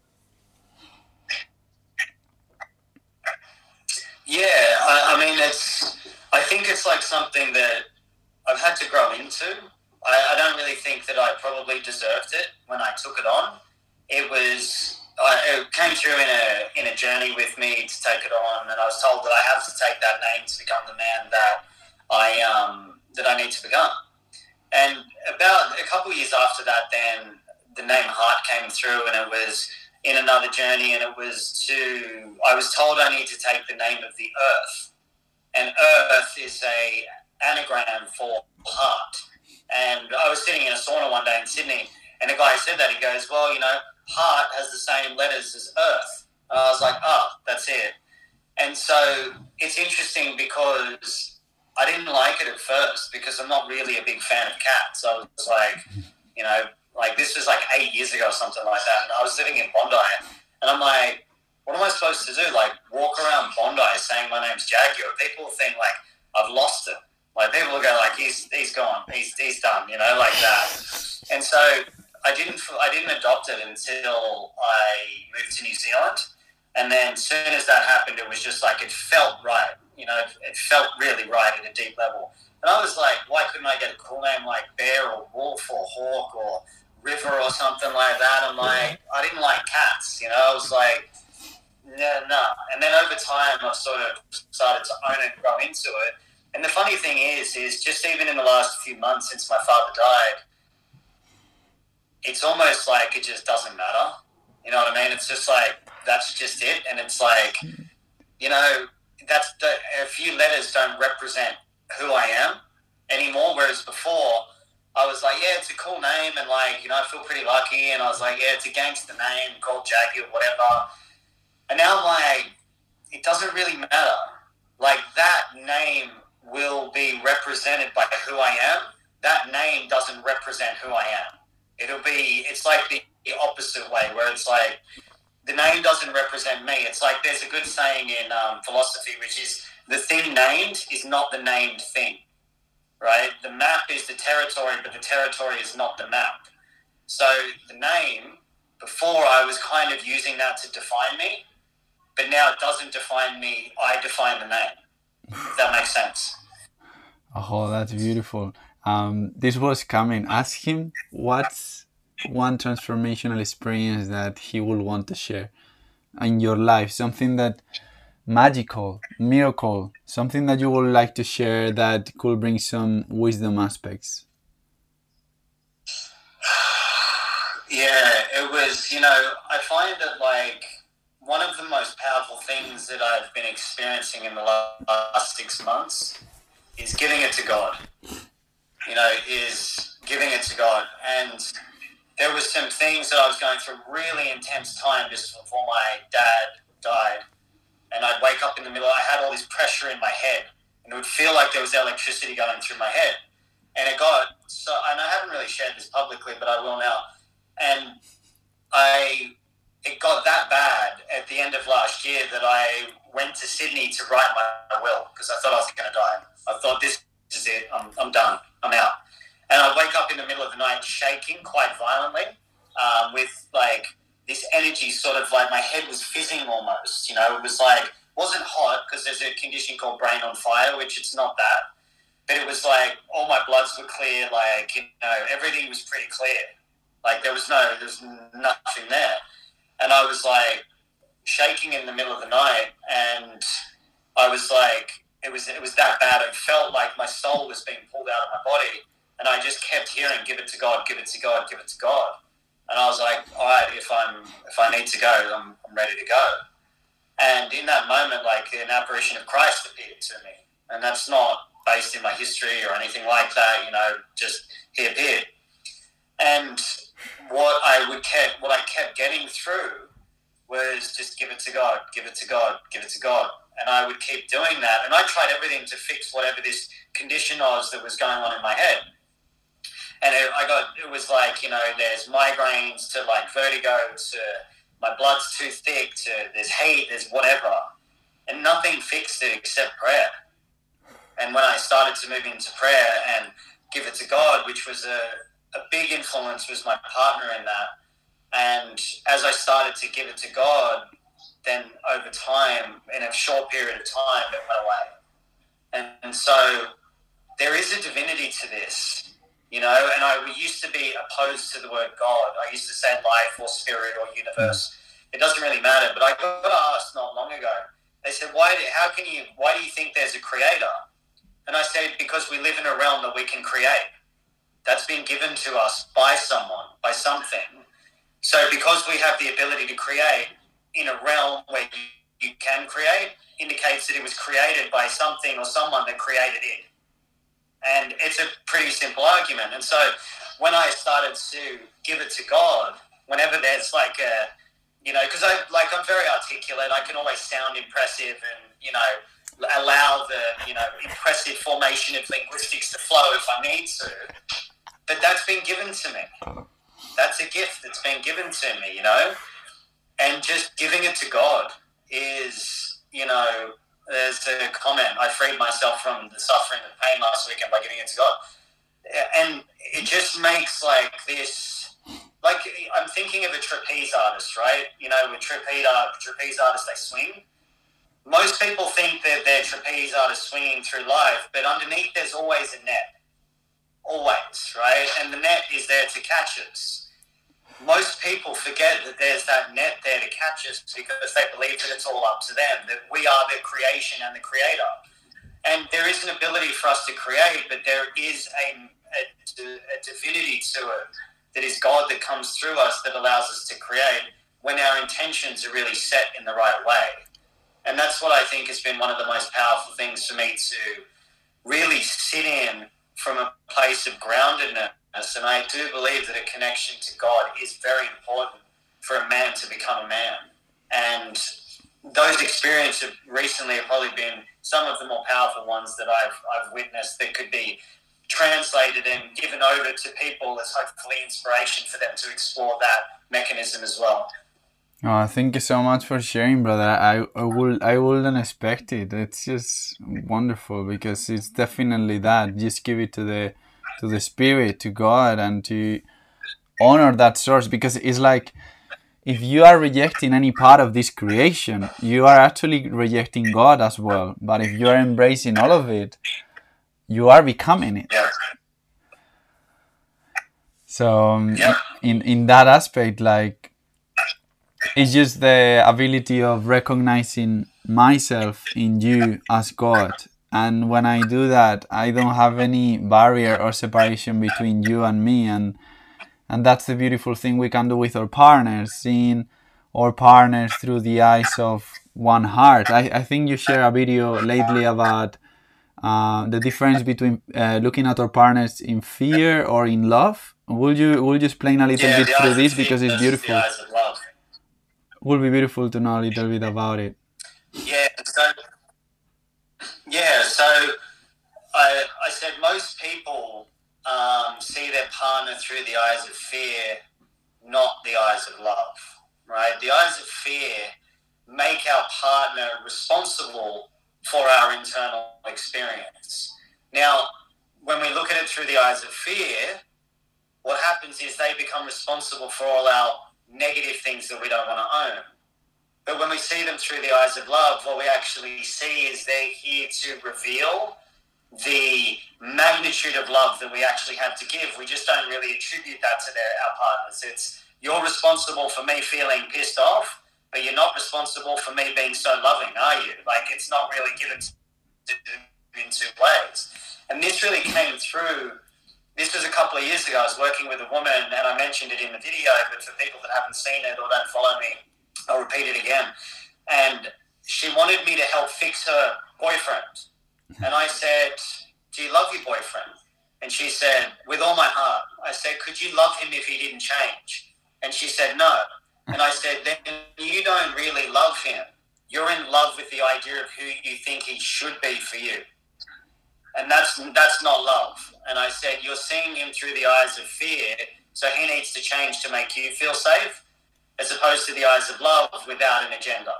Yeah, I mean, I think it's like something that I've had to grow into. I don't really think that I probably deserved it when I took it on. It came through in a journey with me to take it on, and I was told that I have to take that name to become the man that I need to become. And about a couple of years after that, then the name Heart came through, and it was in another journey, and I was told I need to take the name of the Earth, and Earth is a anagram for heart. And I was sitting in a sauna one day in Sydney, and the guy said that, he goes, well, you know, heart has the same letters as Earth. And I was like, that's it. And so it's interesting, because I didn't like it at first, because I'm not really a big fan of cats. I was like, you know, like this was like 8 years ago or something like that, and I was living in Bondi, and I'm like, what am I supposed to do? Like walk around Bondi saying my name's Jaguar? People think like I've lost it. Like people will go like he's gone, he's done, you know, like that. And so I didn't adopt it until I moved to New Zealand, and then as soon as that happened, it was just like it felt right. You know, it felt really right at a deep level. And I was like, why couldn't I get a cool name like Bear or Wolf or Hawk or River or something like that? I'm like, I didn't like cats, you know. I was like, no. And then over time, I've sort of started to own it and grow into it. And the funny thing is just even in the last few months since my father died, it's almost like it just doesn't matter. You know what I mean? It's just like, that's just it. And it's like, you know, a few letters don't represent who I am anymore. Whereas before, I was like, yeah, it's a cool name, and like, you know, I feel pretty lucky. And I was like, yeah, it's a gangster name called Jaguar, whatever. And now I'm like, it doesn't really matter. Like that name will be represented by who I am. That name doesn't represent who I am. It's like the opposite way, where it's like the name doesn't represent me. It's like there's a good saying in philosophy, which is the thing named is not the named thing, right? The map is the territory, but the territory is not the map. So the name, before I was kind of using that to define me, but now it doesn't define me. I define the name. If that makes sense. Oh, that's beautiful. This was coming. Ask him what's one transformational experience that he will want to share in your life. Something that magical, miracle, something that you would like to share that could bring some wisdom aspects? Yeah, it was, I find that like one of the most powerful things that I've been experiencing in the last 6 months is giving it to God. Is giving it to God. And there was some things that I was going through really intense time just before my dad died. And I'd wake up in the middle, I had all this pressure in my head, and it would feel like there was electricity going through my head. And it got so, and I haven't really shared this publicly, but I will now. And it got that bad at the end of last year that I went to Sydney to write my will because I thought I was going to die. I thought, this is it. I'm done. I'm out. And I'd wake up in the middle of the night shaking quite violently, with like this energy, sort of like my head was fizzing almost. It was like, wasn't hot because there's a condition called brain on fire, which it's not that. But it was like all my bloods were clear, like, everything was pretty clear. Like there's nothing there. And I was like shaking in the middle of the night, and I was like, it was that bad. It felt like my soul was being pulled out of my body, and I just kept hearing, give it to God, give it to God, give it to God. And I was like, all right, if I need to go, I'm ready to go. And in that moment, like an apparition of Christ appeared to me, and that's not based in my history or anything like that. Just he appeared. And what I kept getting through was just give it to God, give it to God, give it to God. And I would keep doing that. And I tried everything to fix whatever this condition was that was going on in my head. And it was like, there's migraines to like vertigo to my blood's too thick to there's hate, there's whatever. And nothing fixed it except prayer. And when I started to move into prayer and give it to God, which was a big influence, was my partner in that. And as I started to give it to God, then over time, in a short period of time, it went away. And so there is a divinity to this, and I used to be opposed to the word God. I used to say life or spirit or universe. It doesn't really matter. But I got asked not long ago, they said, why do you think there's a creator? And I said, because we live in a realm that we can create. That's been given to us by someone, by something. So because we have the ability to create in a realm where you can create, indicates that it was created by something or someone that created it. And it's a pretty simple argument. And so when I started to give it to God, whenever there's like because I'm very articulate, I can always sound impressive and, allow the, impressive formation of linguistics to flow if I need to. But that's been given to me. That's a gift that's been given to me, and just giving it to God is, there's a comment, I freed myself from the suffering and pain last weekend by giving it to God. And it just makes like this, like I'm thinking of a trapeze artist, right? With trapeze artists, they swing. Most people think that they're trapeze artists swinging through life, but underneath there's always a net. Always, right? And the net is there to catch us. Most people forget that there's that net there to catch us because they believe that it's all up to them, that we are the creation and the creator. And there is an ability for us to create, but there is a divinity to it that is God that comes through us that allows us to create when our intentions are really set in the right way. And that's what I think has been one of the most powerful things for me to really sit in from a place of groundedness. And I do believe that a connection to God is very important for a man to become a man. And those experiences recently have probably been some of the more powerful ones that I've witnessed that could be translated and given over to people as hopefully inspiration for them to explore that mechanism as well. Oh, thank you so much for sharing, brother. I wouldn't expect it. It's just wonderful because it's definitely that. Just give it to the spirit, to God, and to honor that source, because it's like if you are rejecting any part of this creation, you are actually rejecting God as well. But if you are embracing all of it, you are becoming it. Yeah. So in that aspect, like, It's just the ability of recognizing myself in you as God. And when I do that, I don't have any barrier or separation between you and me. And that's the beautiful thing we can do with our partners, seeing our partners through the eyes of one heart. I think you shared a video lately about the difference between looking at our partners in fear or in love. Will you explain a little bit through this, because it's beautiful? The eyes of love. Would be beautiful to know a little bit about it. So I said most people see their partner through the eyes of fear, not the eyes of love, right? The eyes of fear make our partner responsible for our internal experience. Now, when we look at it through the eyes of fear, what happens is they become responsible for all our negative things that we don't want to own. But when we see them through the eyes of love, what we actually see is they're here to reveal the magnitude of love that we actually have to give. We just don't really attribute that to our partners. It's, you're responsible for me feeling pissed off, but you're not responsible for me being so loving, are you? Like, it's not really given in two ways. And this really came through. This was a couple of years ago. I was working with a woman, and I mentioned it in the video, but for people that haven't seen it or don't follow me, I'll repeat it again. And she wanted me to help fix her boyfriend. And I said, do you love your boyfriend? And she said, with all my heart. I said, could you love him if he didn't change? And she said, no. And I said, then you don't really love him. You're in love with the idea of who you think he should be for you. And that's not love. And I said, you're seeing him through the eyes of fear, so he needs to change to make you feel safe, as opposed to the eyes of love without an agenda.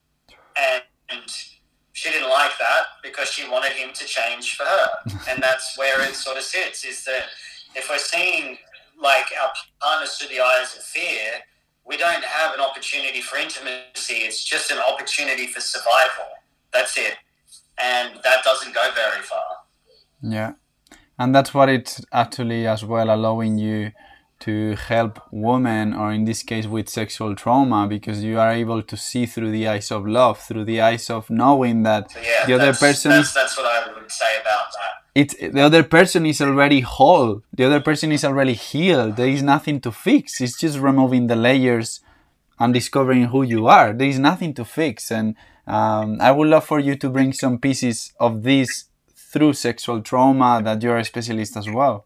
And she didn't like that because she wanted him to change for her. And that's where it sort of sits, is that if we're seeing like our partners through the eyes of fear, we don't have an opportunity for intimacy. It's just an opportunity for survival. That's it. And that doesn't go very far. Yeah. And that's what it's actually as well allowing you to help women, or in this case with sexual trauma, because you are able to see through the eyes of love, through the eyes of knowing that the other person that's what I would say about that. The other person is already whole. The other person is already healed. There is nothing to fix. It's just removing the layers and discovering who you are. There is nothing to fix. And I would love for you to bring some pieces of this through sexual trauma, that you're a specialist as well.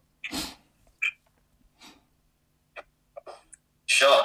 Sure.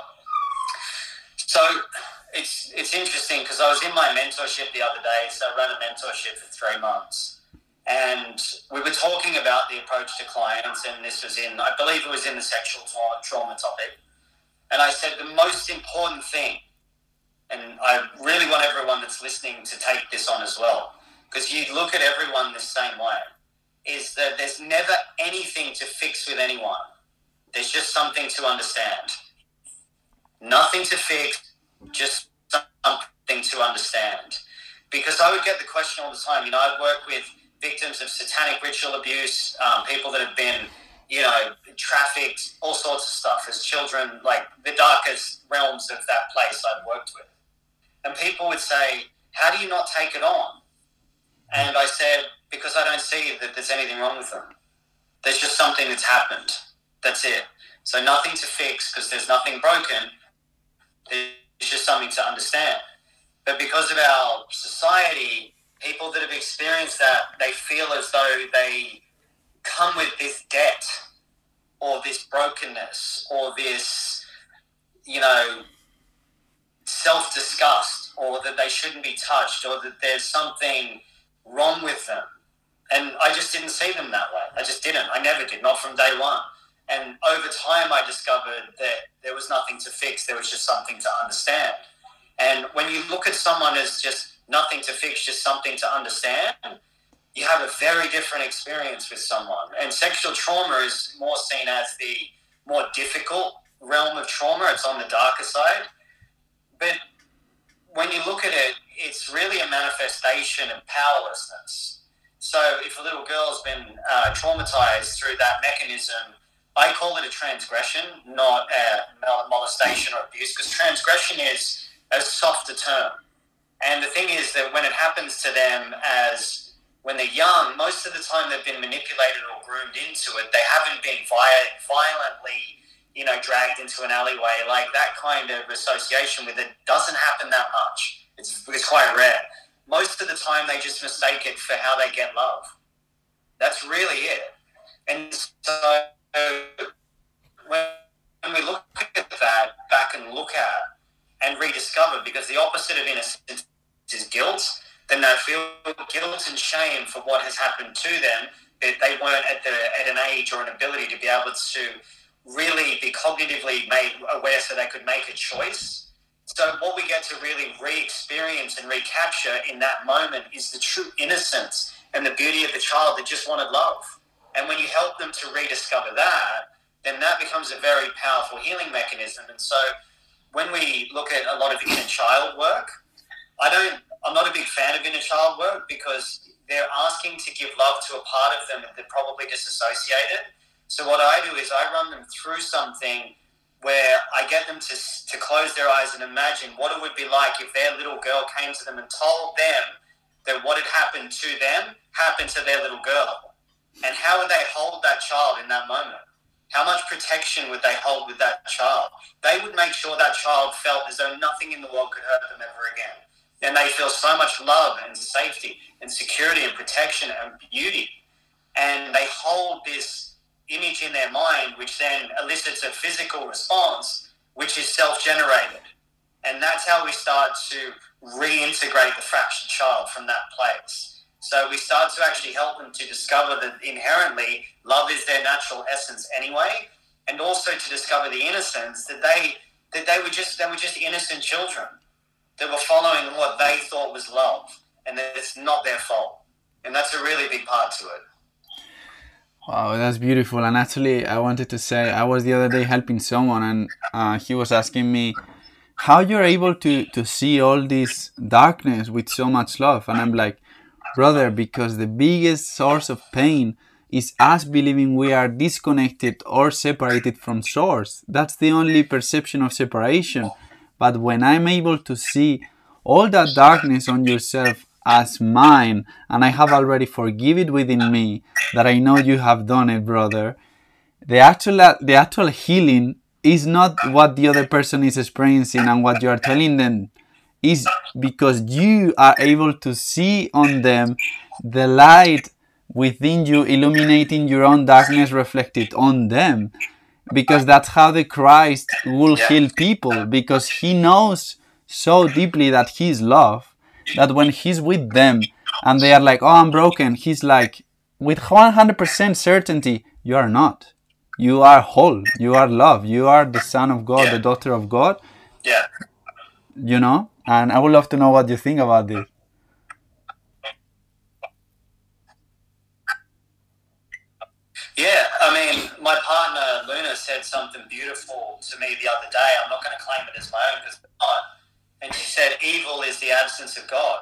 So it's interesting because I was in my mentorship the other day. So I ran a mentorship for 3 months, and we were talking about the approach to clients, and this was I believe it was in the sexual trauma topic. And I said the most important thing, and I really want everyone that's listening to take this on as well, because you look at everyone the same way, is that there's never anything to fix with anyone. There's just something to understand. Nothing to fix, just something to understand. Because I would get the question all the time. You know, I'd work with victims of satanic ritual abuse, people that have been, you know, trafficked, all sorts of stuff as children, like the darkest realms of that place I've worked with. And people would say, how do you not take it on? And I said, because I don't see that there's anything wrong with them. There's just something that's happened. That's it. So nothing to fix because there's nothing broken. There's just something to understand. But because of our society, people that have experienced that, they feel as though they come with this debt or this brokenness or this, you know, self-disgust, or that they shouldn't be touched, or that there's something wrong with them. And I just didn't see them that way. I just didn't. I never did, not from day one. And over time, I discovered that there was nothing to fix. There was just something to understand. And when you look at someone as just nothing to fix, just something to understand, you have a very different experience with someone. And sexual trauma is more seen as the more difficult realm of trauma. It's on the darker side. But when you look at it, it's really a manifestation of powerlessness. So if a little girl's been traumatized through that mechanism I call it a transgression, not molestation or abuse, because transgression is a softer term. And the thing is that when it happens to them as when they're young, most of the time they've been manipulated or groomed into it. They haven't been violently, dragged into an alleyway. Like that kind of association with it doesn't happen that much. It's quite rare. Most of the time they just mistake it for how they get love. That's really it. And so when we look at that, back and look at and rediscover, because the opposite of innocence is guilt, then they feel guilt and shame for what has happened to them. They weren't at an age or an ability to be able to really be cognitively made aware so they could make a choice. So what we get to really re-experience and recapture in that moment is the true innocence and the beauty of the child that just wanted love. And when you help them to rediscover that, then that becomes a very powerful healing mechanism. And so when we look at a lot of inner child work, I'm not a big fan of inner child work because they're asking to give love to a part of them that they're probably disassociated. So what I do is I run them through something where I get them to close their eyes and imagine what it would be like if their little girl came to them and told them that what had happened to them happened to their little girl. And how would they hold that child in that moment? How much protection would they hold with that child? They would make sure that child felt as though nothing in the world could hurt them ever again. And they feel so much love and safety and security and protection and beauty. And they hold this image in their mind, which then elicits a physical response, which is self-generated. And that's how we start to reintegrate the fractured child from that place. So we start to actually help them to discover that inherently love is their natural essence anyway, and also to discover the innocence that they were just innocent children that were following what they thought was love, and that it's not their fault. And that's a really big part to it. Wow, that's beautiful. And actually, I wanted to say, I was the other day helping someone, and he was asking me how you're able to see all this darkness with so much love. And I'm like, brother, because the biggest source of pain is us believing we are disconnected or separated from source. That's the only perception of separation. But when I'm able to see all that darkness on yourself as mine, and I have already forgiven it within me, that I know you have done it, brother, the actual healing is not what the other person is experiencing and what you are telling them, is because you are able to see on them the light within you, illuminating your own darkness reflected on them. Because that's how the Christ will heal people, because he knows so deeply that he's love, that when he's with them and they are like, oh, I'm broken, he's like, with 100% certainty, you are not. You are whole. You are love. You are the son of God, the daughter of God. Yeah. You know? And I would love to know what you think about this. Yeah, I mean, my partner Luna said something beautiful to me the other day. I'm not going to claim it as my own because it's not. And she said, evil is the absence of God.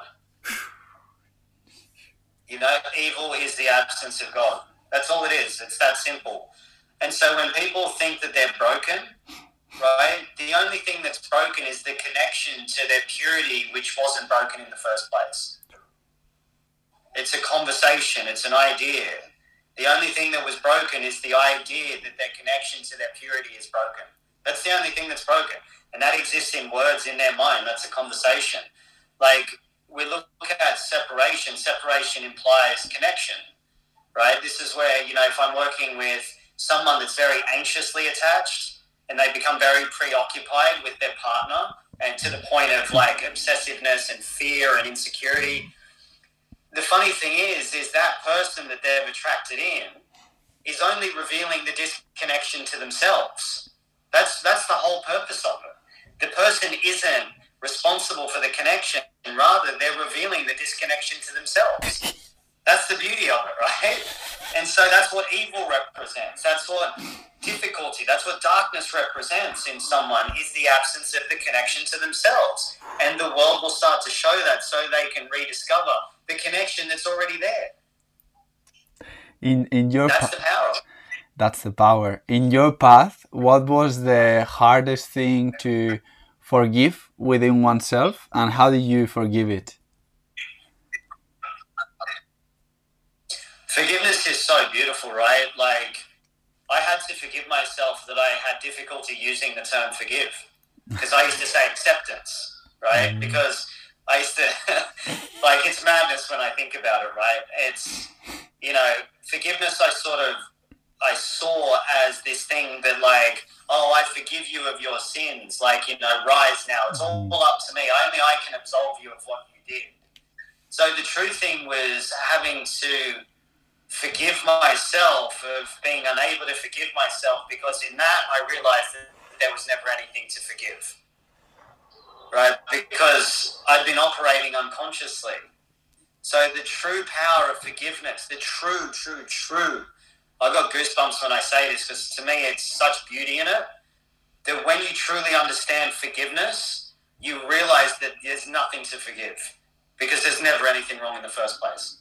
You know, evil is the absence of God. That's all it is. It's that simple. And so when people think that they're broken, right, the only thing that's broken is the connection to their purity, which wasn't broken in the first place. It's a conversation. It's an idea. The only thing that was broken is the idea that their connection to their purity is broken. That's the only thing that's broken. And that exists in words in their mind. That's a conversation. Like, we look at separation. Separation implies connection, right? This is where, you know, if I'm working with someone that's very anxiously attached and they become very preoccupied with their partner and to the point of, like, obsessiveness and fear and insecurity, the funny thing is that person that they've attracted in is only revealing the disconnection to themselves. That's the whole purpose of it. The person isn't responsible for the connection, and rather they're revealing the disconnection to themselves. That's the beauty of it, right? And so that's what evil represents. That's what difficulty, that's what darkness represents in someone, is the absence of the connection to themselves. And the world will start to show that so they can rediscover the connection that's already there. In your that's the power. That's the power. In your path, what was the hardest thing to forgive within oneself, and how did you forgive it? Forgiveness is so beautiful, right? Like, I had to forgive myself that I had difficulty using the term forgive, because I used to say acceptance, right? Because I used to, like, it's madness when I think about it, right? It's, forgiveness I saw as this thing that, like, oh, I forgive you of your sins, like, rise now. It's all up to me. Only I can absolve you of what you did. So the true thing was having to forgive myself of being unable to forgive myself, because in that I realized that there was never anything to forgive, right? Because I'd been operating unconsciously. So the true power of forgiveness, the true, I got goosebumps when I say this, because to me it's such beauty in it, that when you truly understand forgiveness, you realize that there's nothing to forgive, because there's never anything wrong in the first place.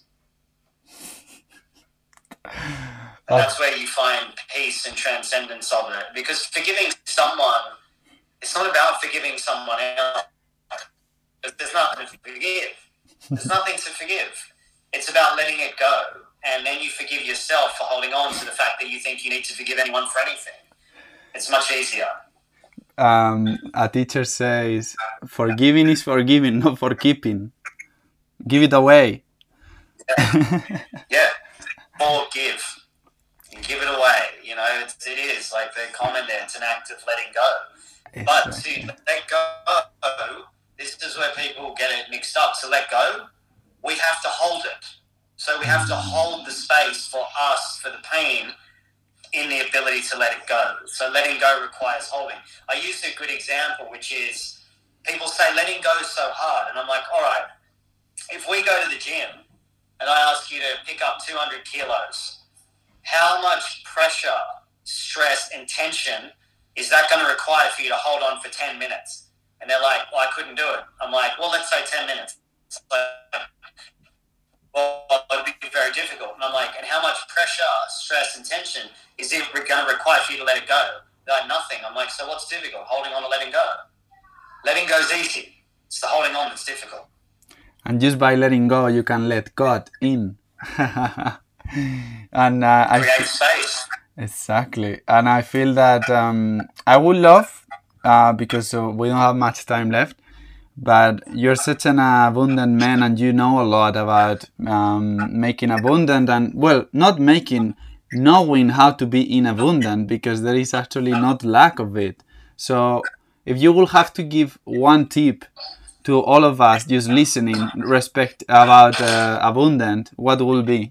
And that's where you find peace and transcendence of it. Because forgiving someone, it's not about forgiving someone else. There's nothing to forgive. There's nothing to forgive. It's about letting it go. And then you forgive yourself for holding on to the fact that you think you need to forgive anyone for anything. It's much easier. A teacher says, forgiving is forgiving, not for keeping. Give it away. Yeah. Forgive. And give it away. It is like the comment there. It's an act of letting go. But to let go, this is where people get it mixed up. To let go, we have to hold it. So we have to hold the space for us, for the pain, in the ability to let it go. So letting go requires holding. I use a good example, which is people say letting go is so hard. And I'm like, all right, if we go to the gym and I ask you to pick up 200 kilos, how much pressure, stress, and tension is that going to require for you to hold on for 10 minutes? And they're like, well, I couldn't do it. I'm like, well, let's say 10 minutes. Well, it'd be very difficult. And I'm like, and how much pressure, stress, and tension is it going to require for you to let it go? They're like, nothing. I'm like, so what's difficult? Holding on or letting go? Letting go is easy. It's the holding on that's difficult. And just by letting go, you can let God in. And create space. Exactly. And I feel that I would love, because we don't have much time left, but you're such an abundant man, and you know a lot about making abundant, and, well, not making, knowing how to be in abundant, because there is actually not lack of it. So if you will have to give one tip to all of us just listening, respect about abundant, what will be?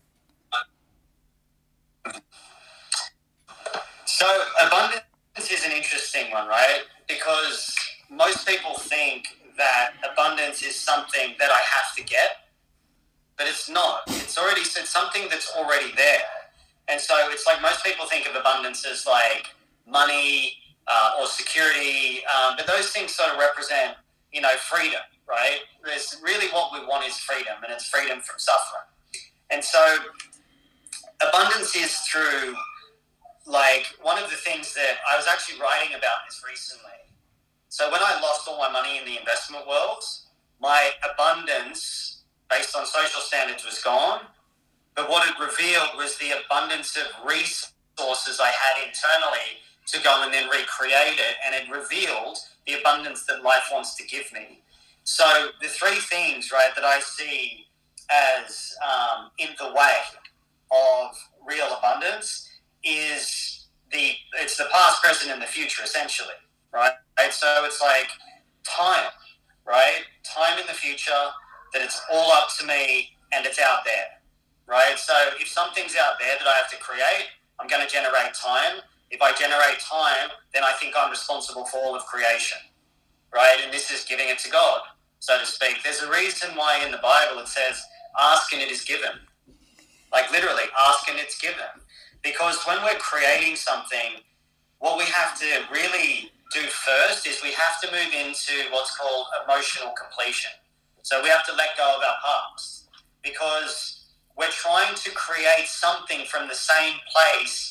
So abundance is an interesting one, right? Because most people think that abundance is something that I have to get, but it's not. It's something that's already there. And so it's like most people think of abundance as like money or security, but those things sort of represent, freedom, right? There's really what we want is freedom, and it's freedom from suffering. And so abundance is through, like, one of the things that I was actually writing about this recently. So when I lost all my money in the investment world, my abundance based on social standards was gone. But what it revealed was the abundance of resources I had internally to go and then recreate it. And it revealed the abundance that life wants to give me. So the three things, right, that I see as in the way of real abundance is it's the past, present, and the future, essentially, right? So it's like time, right? Time in the future, that it's all up to me and it's out there, right? So if something's out there that I have to create, I'm going to generate time. If I generate time, then I think I'm responsible for all of creation, right? And this is giving it to God, so to speak. There's a reason why in the Bible it says, ask and it is given. Like literally, ask and it's given. Because when we're creating something, what we have to really do first is we have to move into what's called emotional completion. So we have to let go of our past, because we're trying to create something from the same place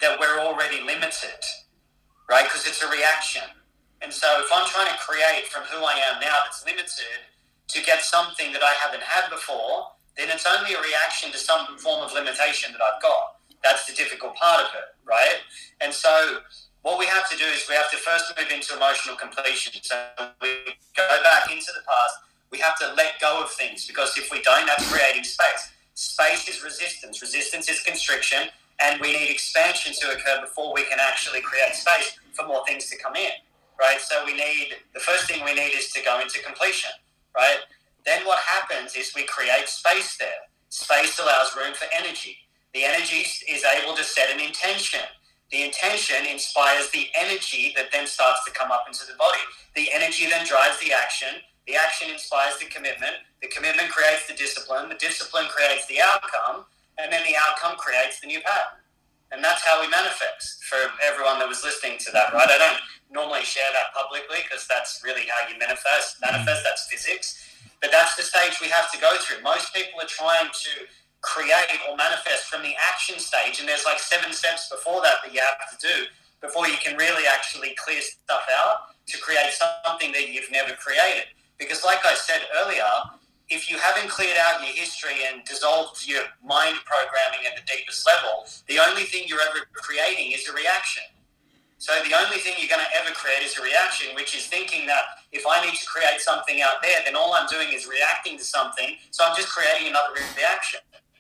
that we're already limited, right? Because it's a reaction. And so if I'm trying to create from who I am now that's limited to get something that I haven't had before, then it's only a reaction to some form of limitation that I've got. That's the difficult part of it, right? And so what we have to do is we have to first move into emotional completion. So we go back into the past. We have to let go of things, because if we don't, that's creating space. Space is resistance. Resistance is constriction, and we need expansion to occur before we can actually create space for more things to come in, right? So the first thing we need is to go into completion, right? Then what happens is we create space there. Space allows room for energy. The energy is able to set an intention. The intention inspires the energy that then starts to come up into the body. The energy then drives the action. The action inspires the commitment creates the discipline creates the outcome, and then the outcome creates the new pattern. And that's how we manifest, for everyone that was listening to that, right? I don't normally share that publicly because that's really how you manifest, that's physics. But that's the stage we have to go through. Most people are trying to create or manifest from the action stage, and there's like 7 steps before that you have to do before you can really actually clear stuff out to create something that you've never created. Because like I said earlier, if you haven't cleared out your history and dissolved your mind programming at the deepest level, the only thing you're ever creating is a reaction. So the only thing you're going to ever create is a reaction, which is thinking that if I need to create something out there, then all I'm doing is reacting to something, so I'm just creating another reaction.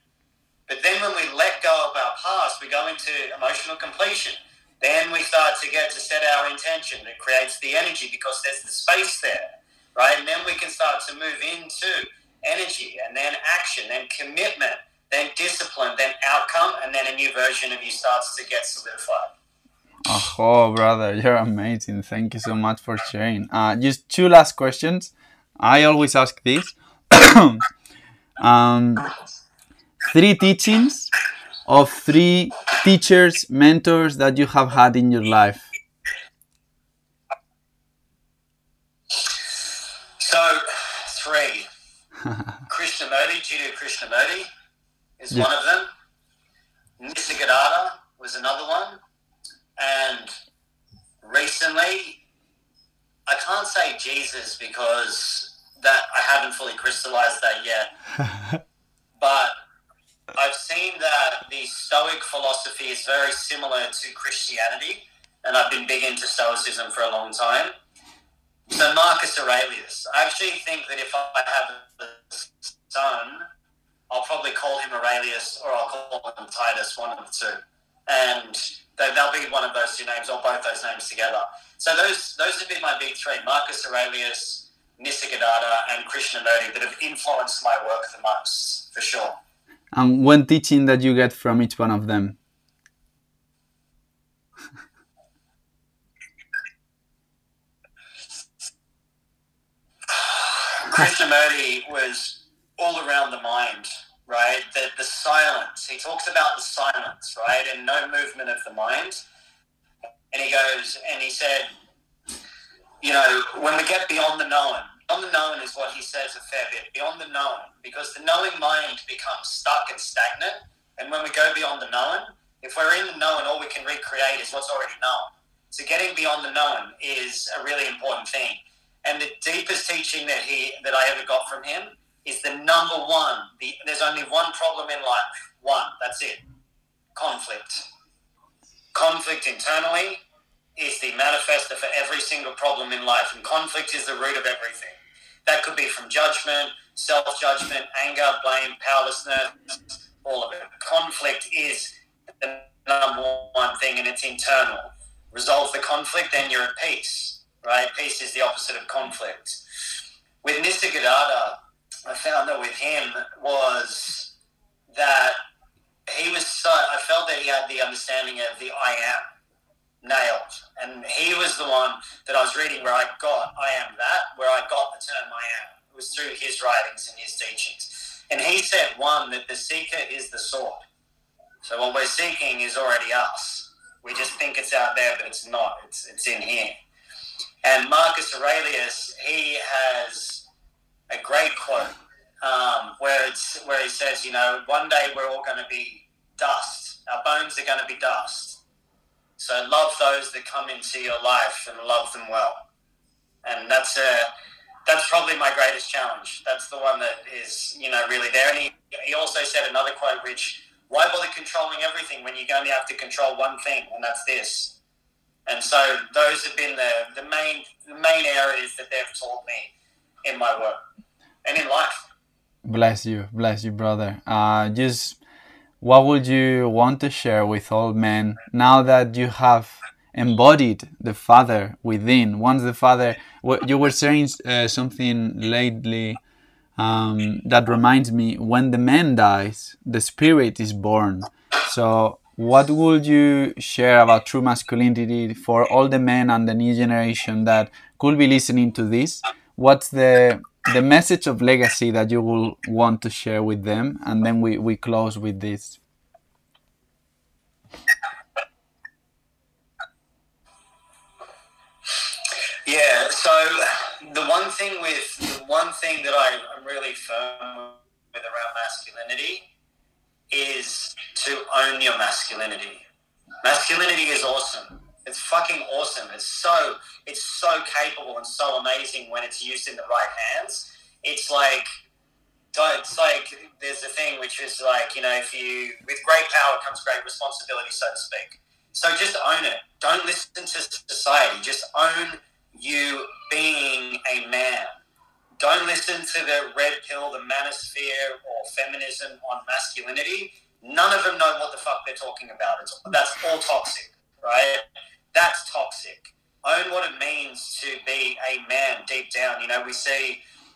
But then when we let go of our past, we go into emotional completion. Then we start to get to set our intention that creates the energy, because there's the space there, right? And then we can start to move into energy, and then action, then commitment, then discipline, then outcome, and then a new version of you starts to get solidified. Oh, brother, you're amazing. Thank you so much for sharing. Just 2 last questions. I always ask this. 3 teachings of 3 teachers, mentors that you have had in your life. So, 3. Krishnamurti, Jiddu Krishnamurti is one of them. Nisargadatta was another one. And recently, I can't say Jesus because that I haven't fully crystallized that yet. But I've seen that the Stoic philosophy is very similar to Christianity, and I've been big into Stoicism for a long time. So Marcus Aurelius, I actually think that if I have a son, I'll probably call him Aurelius, or I'll call him Titus, one of the two. And they'll be one of those 2 names, or both those names together. So those have been my big 3, Marcus Aurelius, Nisargadatta, and Krishnamurti, that have influenced my work the most, for sure. And one teaching that you get from each one of them? Krishnamurti was all around the mind, right? The silence. He talks about the silence, right? And no movement of the mind. And he said, when we get beyond the known is what he says a fair bit, beyond the known, because the knowing mind becomes stuck and stagnant. And when we go beyond the known, if we're in the known, all we can recreate is what's already known. So getting beyond the known is a really important thing. And the deepest teaching that I ever got from him is the number one. There's only one problem in life. One. That's it. Conflict. Conflict internally is the manifester for every single problem in life. And conflict is the root of everything. That could be from judgment, self-judgment, anger, blame, powerlessness, all of it. Conflict is the number one thing, and it's internal. Resolve the conflict, then you're at peace, right? Peace is the opposite of conflict. With Nisargadatta, I found that with him was that I felt that he had the understanding of the I am nailed. And he was the one that I was reading where I got I am that, where I got the term I am. It was through his writings and his teachings. And he said, one, that the seeker is the sought. So what we're seeking is already us. We just think it's out there, but it's not. It's in here. And Marcus Aurelius, he has a great quote where he says, one day we're all going to be dust. Our bones are going to be dust. So love those that come into your life and love them well. And that's probably my greatest challenge. That's the one that is, really there. And he also said another quote, which, why bother controlling everything when you only have to control one thing, and that's this. And so those have been the main areas that they've taught me in my work and in life. Bless you, brother. Just what would you want to share with all men now that you have embodied the Father within? Once the Father, you were saying something lately that reminds me, when the man dies, the spirit is born. So what would you share about true masculinity for all the men and the new generation that could be listening to this? What's the message of legacy that you will want to share with them? And then we close with this. Yeah, so the one thing that I'm really firm with around masculinity is to own your masculinity. Masculinity is awesome. It's fucking awesome. It's so capable and so amazing when it's used in the right hands. It's like there's a thing which is like, if you, with great power comes great responsibility, so to speak. So just own it. Don't listen to society. Just own you being a man. Don't listen to the red pill, the manosphere, or feminism on masculinity. None of them know what the fuck they're talking about. That's all toxic, right? That's toxic. Own what it means to be a man deep down. We see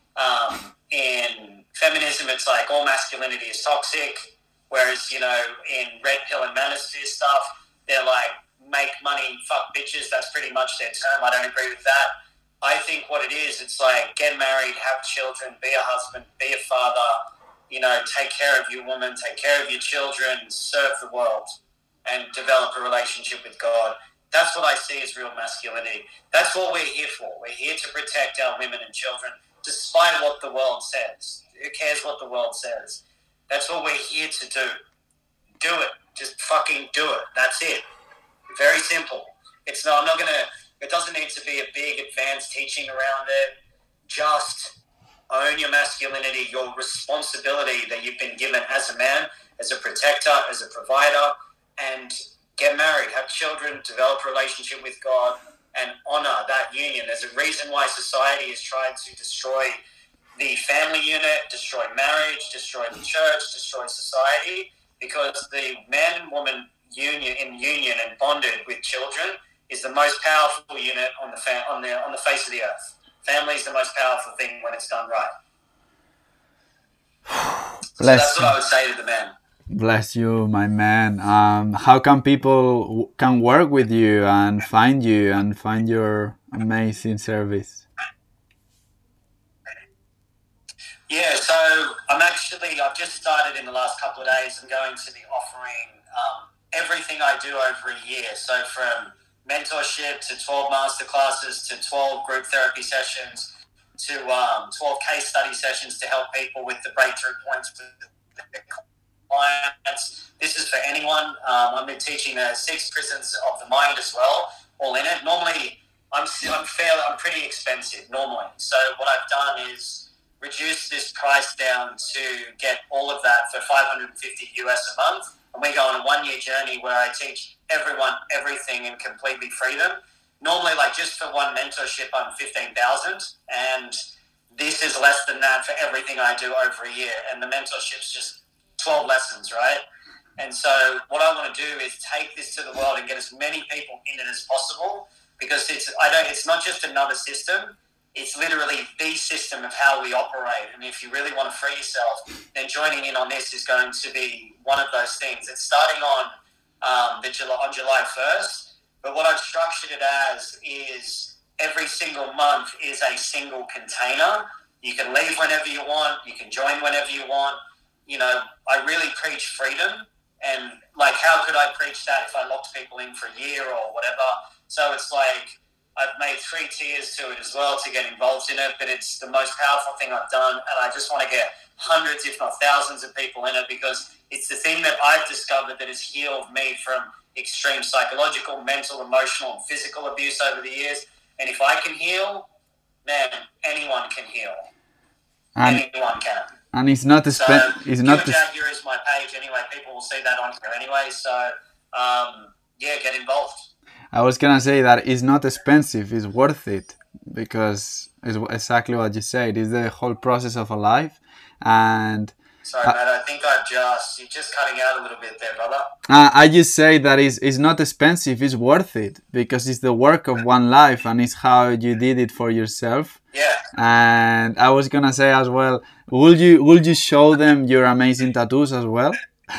in feminism, it's like all masculinity is toxic, whereas, in red pill and manosphere stuff, they're like, make money, fuck bitches. That's pretty much their term. I don't agree with that. I think what it is, it's like, get married, have children, be a husband, be a father, take care of your woman, take care of your children, serve the world, and develop a relationship with God. That's what I see as real masculinity. That's what we're here for. We're here to protect our women and children, despite what the world says. Who cares what the world says? That's what we're here to do. Do it. Just fucking do it. That's it. Very simple. It doesn't need to be a big advanced teaching around it. Just own your masculinity, your responsibility that you've been given as a man, as a protector, as a provider, and get married, have children, develop a relationship with God, and honor that union. There's a reason why society has tried to destroy the family unit, destroy marriage, destroy the church, destroy society, because the man and woman union and bonded with children is the most powerful unit on the face of the earth. Family is the most powerful thing when it's done right. So that's what I would say to the man. Bless you, my man. How can people can work with you and find your amazing service? Yeah, so I've just started in the last couple of days. I'm going to be offering everything I do over a year. So from mentorship to 12 masterclasses to 12 group therapy sessions to 12 case study sessions to help people with the breakthrough points with their clients. This is for anyone. I've been teaching the 6 prisons of the mind as well, all in it. Normally, I'm pretty expensive normally. So what I've done is reduce this price down to get all of that for $550 US a month. And we go on a 1-year journey where I teach everyone everything and completely free them. Normally, like just for one mentorship, I'm $15,000, and this is less than that for everything I do over a year. And the mentorship's just 12 lessons, right? And so what I want to do is take this to the world and get as many people in it as possible, because it's not just another system. It's literally the system of how we operate. And if you really want to free yourself, then joining in on this is going to be one of those things. It's starting on July 1st, but what I've structured it as is every single month is a single container. You can leave whenever you want. You can join whenever you want. I really preach freedom. And like, how could I preach that if I locked people in for a year or whatever? So it's like, I've made 3 tiers to it as well to get involved in it, but it's the most powerful thing I've done, and I just want to get hundreds, if not thousands of people in it, because it's the thing that I've discovered that has healed me from extreme psychological, mental, emotional, and physical abuse over the years. And if I can heal, man, anyone can heal. Anyone can. And it's not So, it's not here is my page anyway. People will see that on here anyway. So, yeah, get involved. I was gonna say that it's not expensive, it's worth it, because it's exactly what you said. It's the whole process of a life. And Sorry, Matt, I think you're just cutting out a little bit there, brother. I just say that it's not expensive, it's worth it, because it's the work of one life and it's how you did it for yourself. Yeah. And I was gonna say as well, would you show them your amazing tattoos as well?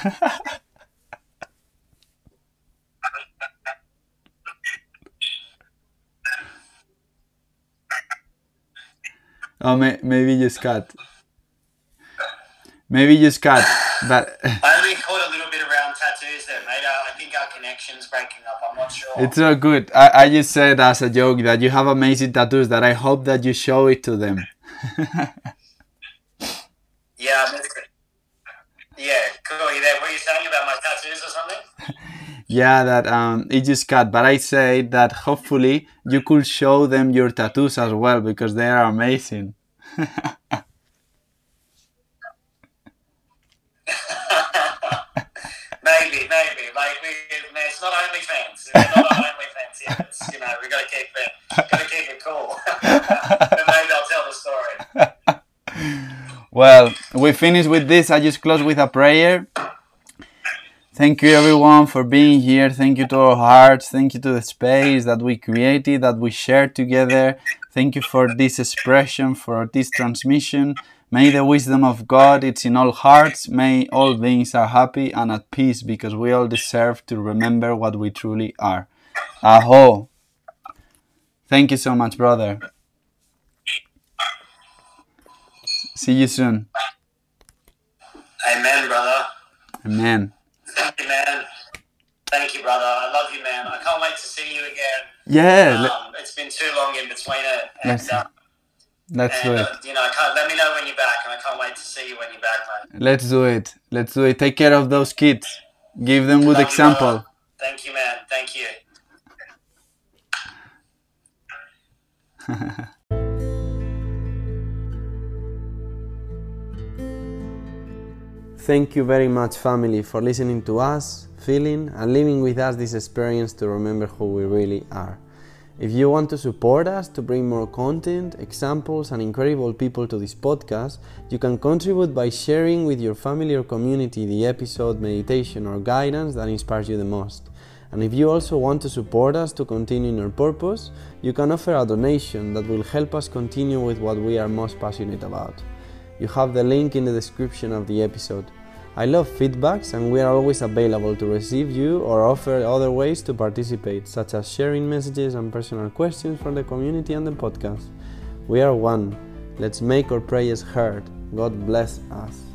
Oh, maybe just cut. Maybe just cut. But I only caught a little bit around tattoos there, mate. I think our connection's breaking up. I'm not sure. it's all good. I just said as a joke that you have amazing tattoos, that I hope that you show it to them. Yeah, I missed it. Yeah, cool. You there? What are you saying about my tattoos or something? Yeah, that it just cut. But I said that hopefully you could show them your tattoos as well, because they are amazing. Maybe. Like it's not OnlyFans. We're not on OnlyFans yet. It's, we gotta keep it cool. But maybe I'll tell the story. Well, we finish with this. I just close with a prayer. Thank you everyone for being here. Thank you to our hearts. Thank you to the space that we created, that we shared together. Thank you for this expression, for this transmission. May the wisdom of God, it's in all hearts. May all beings are happy and at peace, because we all deserve to remember what we truly are. Aho. Thank you so much, brother. See you soon. Amen, brother. Amen. Thank you, man. Thank you, brother. I love you, man. I can't wait to see you again. Yeah. It's been too long in between it. Let's do it. Let me know when you're back, and I can't wait to see you when you're back, mate. Let's do it. Let's do it. Take care of those kids. Give them good example. Thank you, man. Thank you. Thank you very much, family, for listening to us, feeling and living with us this experience to remember who we really are. If you want to support us to bring more content, examples and incredible people to this podcast, you can contribute by sharing with your family or community the episode, meditation or guidance that inspires you the most. And if you also want to support us to continue in our purpose, you can offer a donation that will help us continue with what we are most passionate about. You have the link in the description of the episode. I love feedbacks, and we are always available to receive you or offer other ways to participate, such as sharing messages and personal questions from the community and the podcast. We are one. Let's make our prayers heard. God bless us.